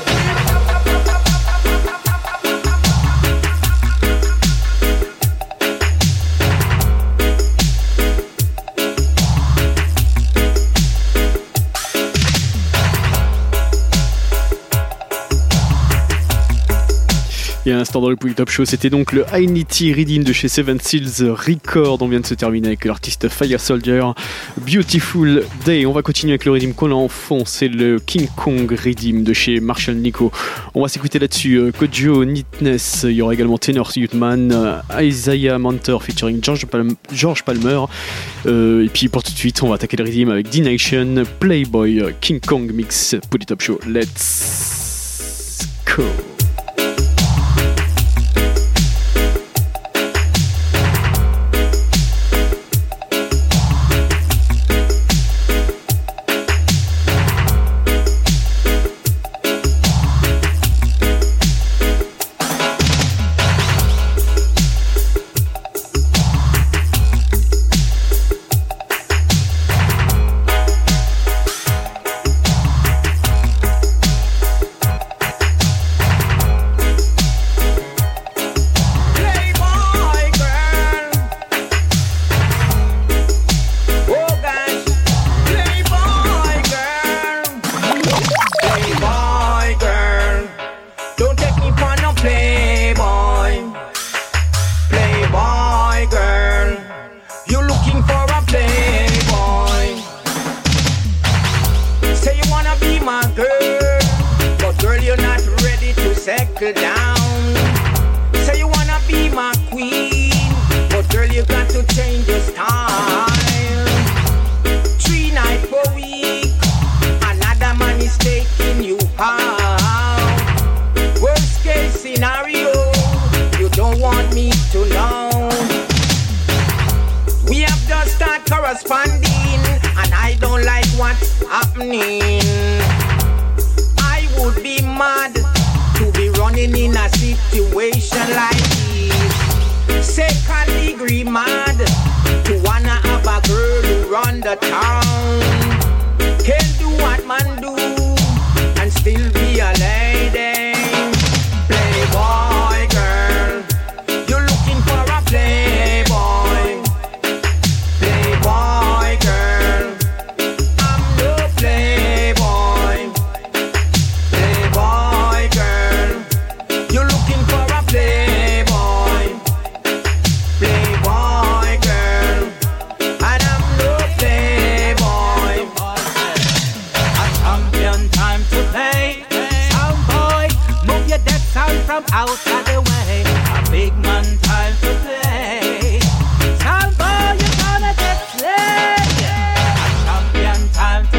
Et à l'instant dans le Polytop Show, c'était donc le Ainity Redeem de chez Seven Seals Records. On vient de se terminer avec l'artiste Fire Soldier, Beautiful Day. On va continuer avec le Redeem qu'on a en fond, c'est le King Kong Redeem de chez Marshall Nico. On va s'écouter là-dessus euh, Kojo, Neatness, il y aura également Tenor Youthman, euh, Isaiah Manter featuring George, Palm- George Palmer. Euh, et puis pour tout de suite, on va attaquer le Redeem avec D-Nation, Playboy, euh, King Kong Mix, Polytop Show. Let's go! settle down. Say you wanna be my queen, but girl you got to change your style. Three nights per week, another man is taking you out. Worst case scenario, you don't want me to know. We have just started corresponding, and I don't like what's happening. I would be mad to be running in a situation like this. Second degree mad to wanna have a girl who run the town. Can't do what man do and still be a lady. Playboy girl, you're looking for a playboy. Playboy girl, I'm no playboy. Playboy girl, you're looking for a playboy. Playboy girl, and I'm no playboy. A champion time to play. Sound boy, move your deck sound from out of the way. A big man time to play. Sound boy, you're gonna get played. A champion time to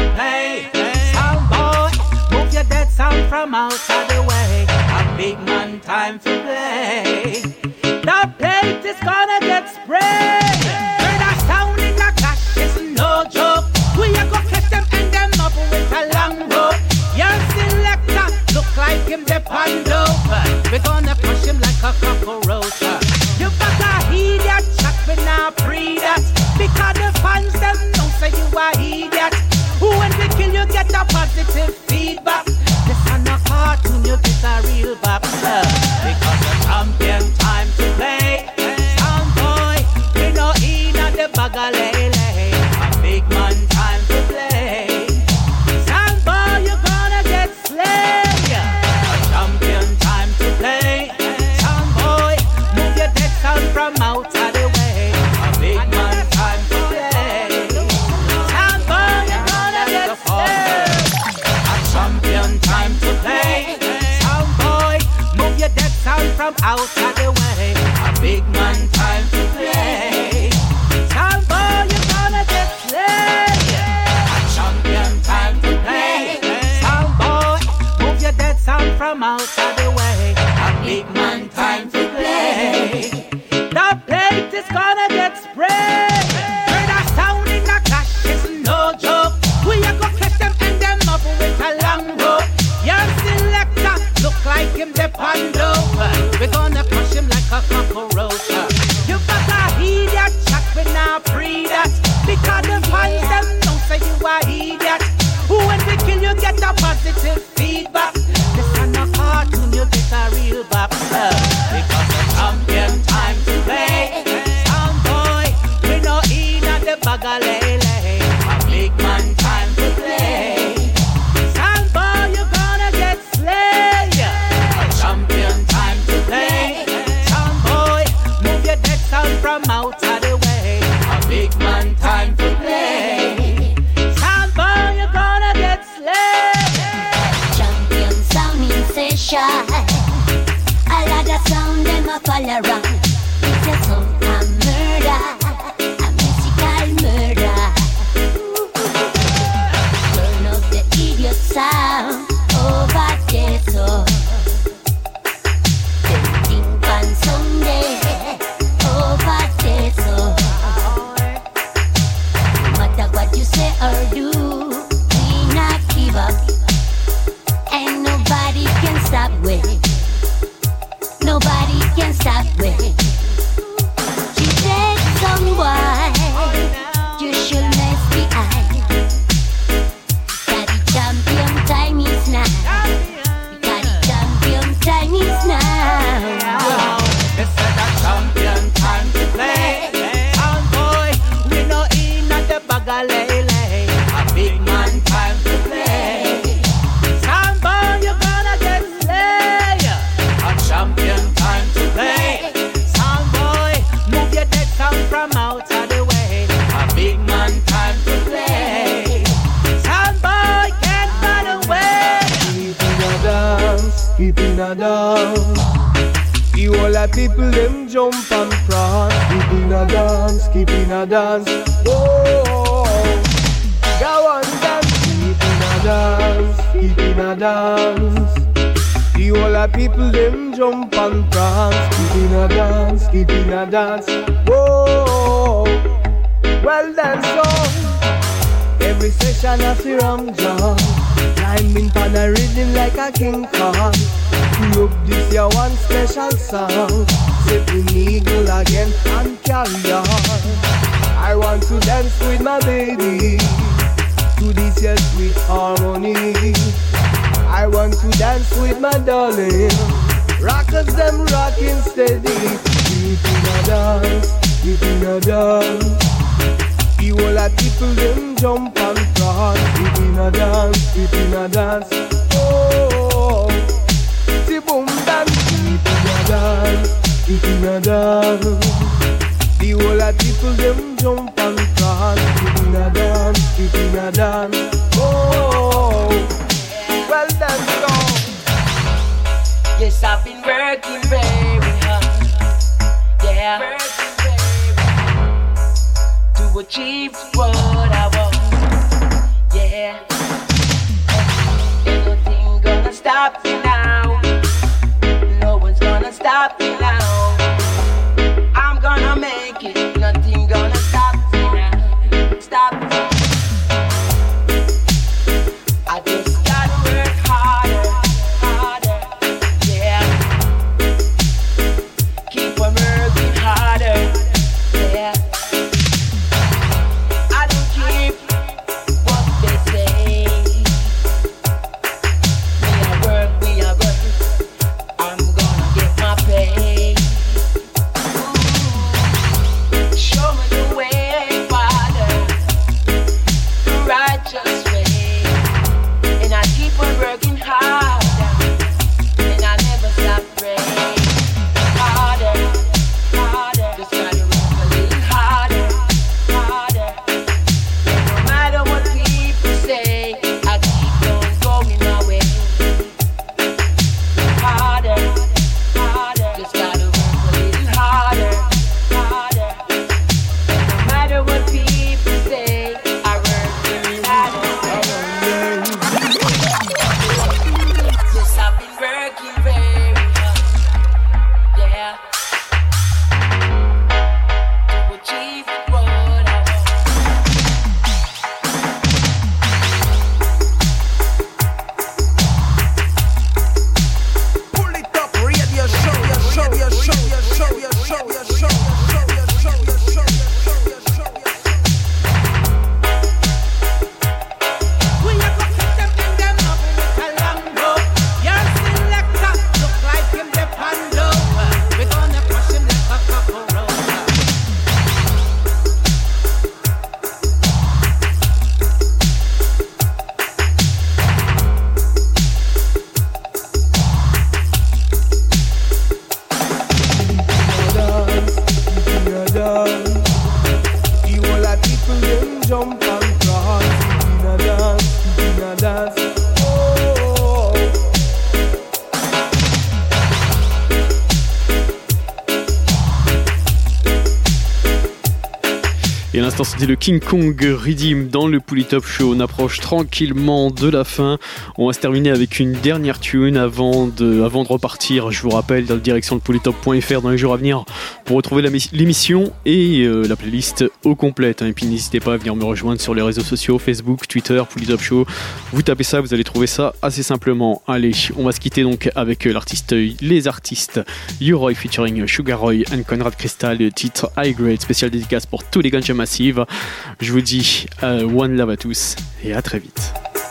from out of the way. A big man time to play. The plate is gonna get sprayed. Heard a sound in the clash, it's no joke. We are gonna catch them and them up with a long rope. Your selector look like him the pandover. We're gonna crush him like a cockroach. You better heed that chat, we now pre that. Because the fans them know say you are idiot. When we kill you get a positive feedback. This is not a cartoon, you get a real boxer. Because the champion time to play. Sound boy, we no in at the bag of lele. A big man time to play. Sound boy, you're gonna get slayed. A champion time to play. Sound boy, move your dead sound from out of the way. A big man time to play. Sound boy, you're gonna get slayed. A champion time to play. Sound boy, move your dead sound from out of the way. A big man time to play. Sound boy, you're gonna get slayed. A champion time to play. Sound boy, move your dead sound from out of the way. A big man time to play. The plate is gonna get sprayed. Heard a sound in the clash, it's no joke. We are gonna catch them and them up with a long rope. Your selector look like him the pandover. We're gonna crush him like a cockroach. You better heed that chat, we now pre that. Because the fans them don't say you are idiot. When we kill you get a positive feedback. This is not a cartoon, you get a real boxer. Because the champion time to play. Sound boy, we no in at the bag of lele. A big man time to play. Sound boy, you're gonna get slayed. A champion time to play. Sound boy, move your dead sound from out of the way. A big man time to play. Sound boy, you're gonna get slayed. Champion sound in session. A lot of sound them a fall around. It's a sound of murder, a musical murder. Turn up the idiot sound over there so. Them think on Sunday over there so. No matter what you say or do, we not give up. And nobody can stop we. Nobody can stop we. She said, someone, you should mess behind. Daddy champion time is now. Daddy champion time is now. This is a champion time to play. Sound boy, we no in at the bag of lele. A big man time to play. Sound boy, you're gonna get slayed. A champion time to play. Sound boy, move your dead sound from out of the way. A big man time to play. Sound boy, can't run away. Keep in a dance, keep in a dance. The whole of people them jump and prance. Keep in a dance, keep in a dance. Oh, go on dance. Keep in a dance, keep in a dance. The whole of people them jump and prance. Keep in a dance, keep in a dance. Whoa, well done so. Every session I see Ram John climbing pan a rhythm like a King Kong. Look, this your one special song. Sipping eagle again and carry on. I want to dance with my baby to this your sweet harmony. I want to dance with my darling. Rockers them rocking steady. Keep in a dance, keep in a dance. The whole of people them jump and prance. Keep in a dance, keep in a dance. Oh, the boom dance. Keep in a dance, keep in a dance. The whole of people them jump and prance. Keep in a dance, keep in a dance. Oh, well done, so. Yes, I've been working very hard. Yeah, working very hard to achieve what I want. Yeah, ain't nothing gonna stop jump and cross. In a dance, in a dance. Oh. Et à l'instant, c'était le King Kong Redeem dans le Pouli Top Show. On approche tranquillement de la fin. On va se terminer avec une dernière tune avant de, avant de repartir. Je vous rappelle, dans la direction de polytop point f r dans les jours à venir pour retrouver la, l'émission et euh, la playlist au complète. Hein. Et puis n'hésitez pas à venir me rejoindre sur les réseaux sociaux, Facebook, Twitter, Pouli Top Show. Vous tapez ça, vous allez trouver ça assez simplement. Allez, on va se quitter donc avec l'artiste, les artistes U-Roy featuring Sugar Roy and Conrad Crystal, le titre High Grade, spécial dédicace pour tous les ganja massive. Je vous dis euh, one love à tous et à très vite.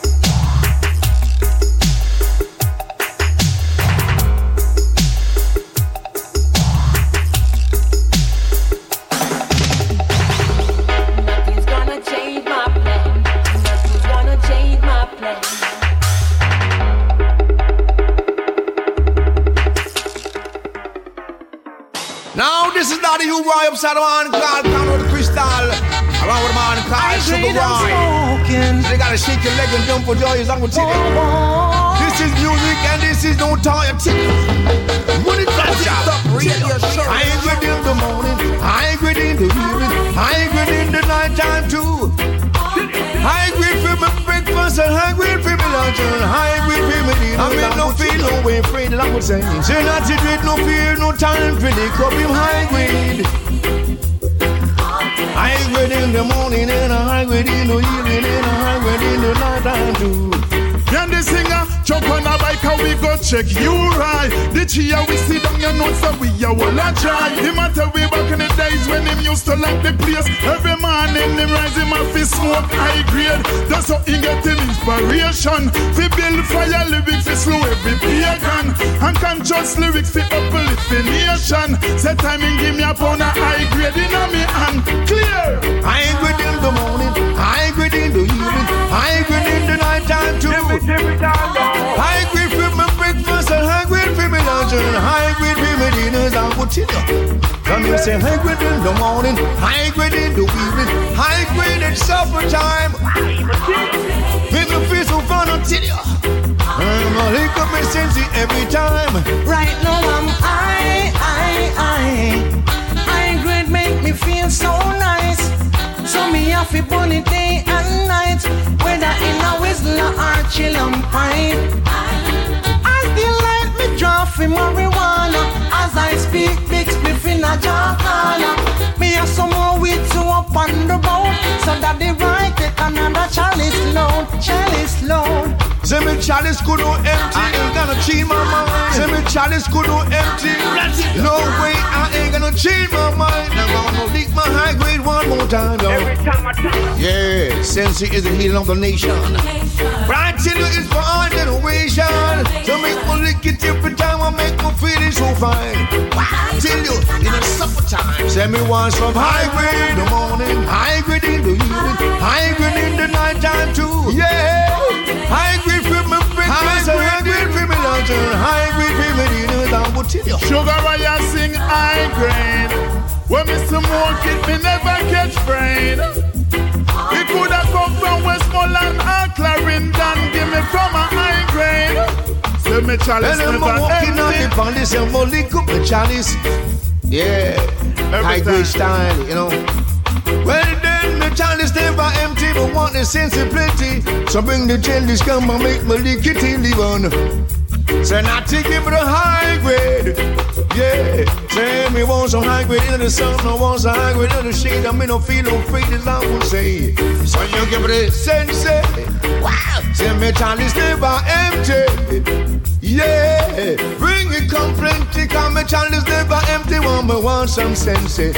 Now this is not the U-Roy upside down called Conrad Crystal. Around with a man called Sugar Roy. So they gotta shake your leg and jump for joy as I'm gonna tell you. This is music and this is no time. When it comes up, I ain't good in the morning, I ain't good in the evening, I ain't good in the night time too. I ain't good for my breakfast and I ain't good for my lunch and I ain't good for my dinner. I mean no feel no way afraid that I would say. Say not to dread, no fear, no time for the cup him high grade. I ain't good in the morning and I ain't good in the evening and I ain't good in the night time too. And the singer jump on a bike and we go check you right. The chia we sit down your notes so we a wall a try. Him a tell we back in the days when him used to lock the place. Every morning him rise him off his smoke high grade. That's how he get him inspiration. Fi build fire lyrics fi slow every pagan. And conscious lyrics fi uplift the nation. Set time and give me a pound of high grade in a me hand. Clear. I ain't good in the morning, I ain't good in the evening, I ain't good in the night time too. High grade for my breakfast and high grade for my lunch and high grade for my dinners. I will tell you. Come here, say high grade in the morning, high grade in the evening, high grade at supper time. Make me feel so fun, I'll tell you. I'm gonna link up my sense every time. Right now I'm high, high, high. High grade make me feel so nice. So me have to burn it day and night, whether in a whistler or chill and pipe. I feel like me draw for marijuana as I speak big spliff in a jar corner. Me have some more weed to up on the boat, so that the right take another chalice load, chalice load. Say me chalice could no empty, I ain't gonna change my mind. Say me chalice could no empty, no way I ain't gonna change my mind. I'm gonna leak my high grade one more time, yo. Every time I tell you. Yeah, Sensi is the healing of the nation. But I tell you it's for our generation. So make me lick it every time I make me feel it so fine. I tell you, in the summertime, say me want some high grade in the morning, high grade in the evening, high grade in the night time too. Yeah, high grade for my breakfast, high grade for my lunch, and high grade for my dinner. I will tell you. Sugar Roy a sing high grade. When me smoke it, me never catch brain. It could have come from Westmoreland or Clarendon. Give me from a high grade. Say me chalice never empty. And I'm walking on the palace and I'm lick up the chalice. Yeah, high grade style, you know. Well then, the chalice never empty, but want the sense of plenty. So bring the jellies, come and make me lick it till live on. Say not take it for the high grade. Yeah, say me want some high grade in the sun, I want some high grade in the shade. I mean, don't feel no afraid as I would say. So you give me the sense. Wow, say me chalice never empty. Yeah, bring it come plenty, cause me chalice never empty. Want me want some sense. Say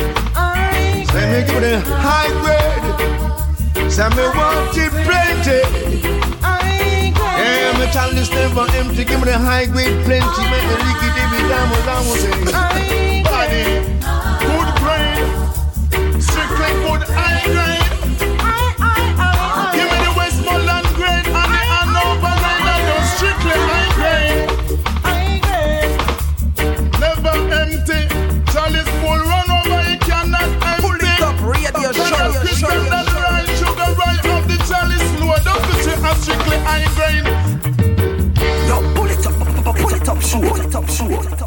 me give me the high grade. Say me want it plenty. Yeah, me chalice never empty. Give me the high grade plenty. Make me lick it every time as I would say. Body, good brain, strictly good high grade. Give me the Westmoreland grade and the Hanover grade and those strictly high grade. Never empty. Chalice full run over, it cannot empty. Pull it up, radio show, show, show. strictly high grain. Yo, pull it up, pull it up, shoot, pull it up, shoot.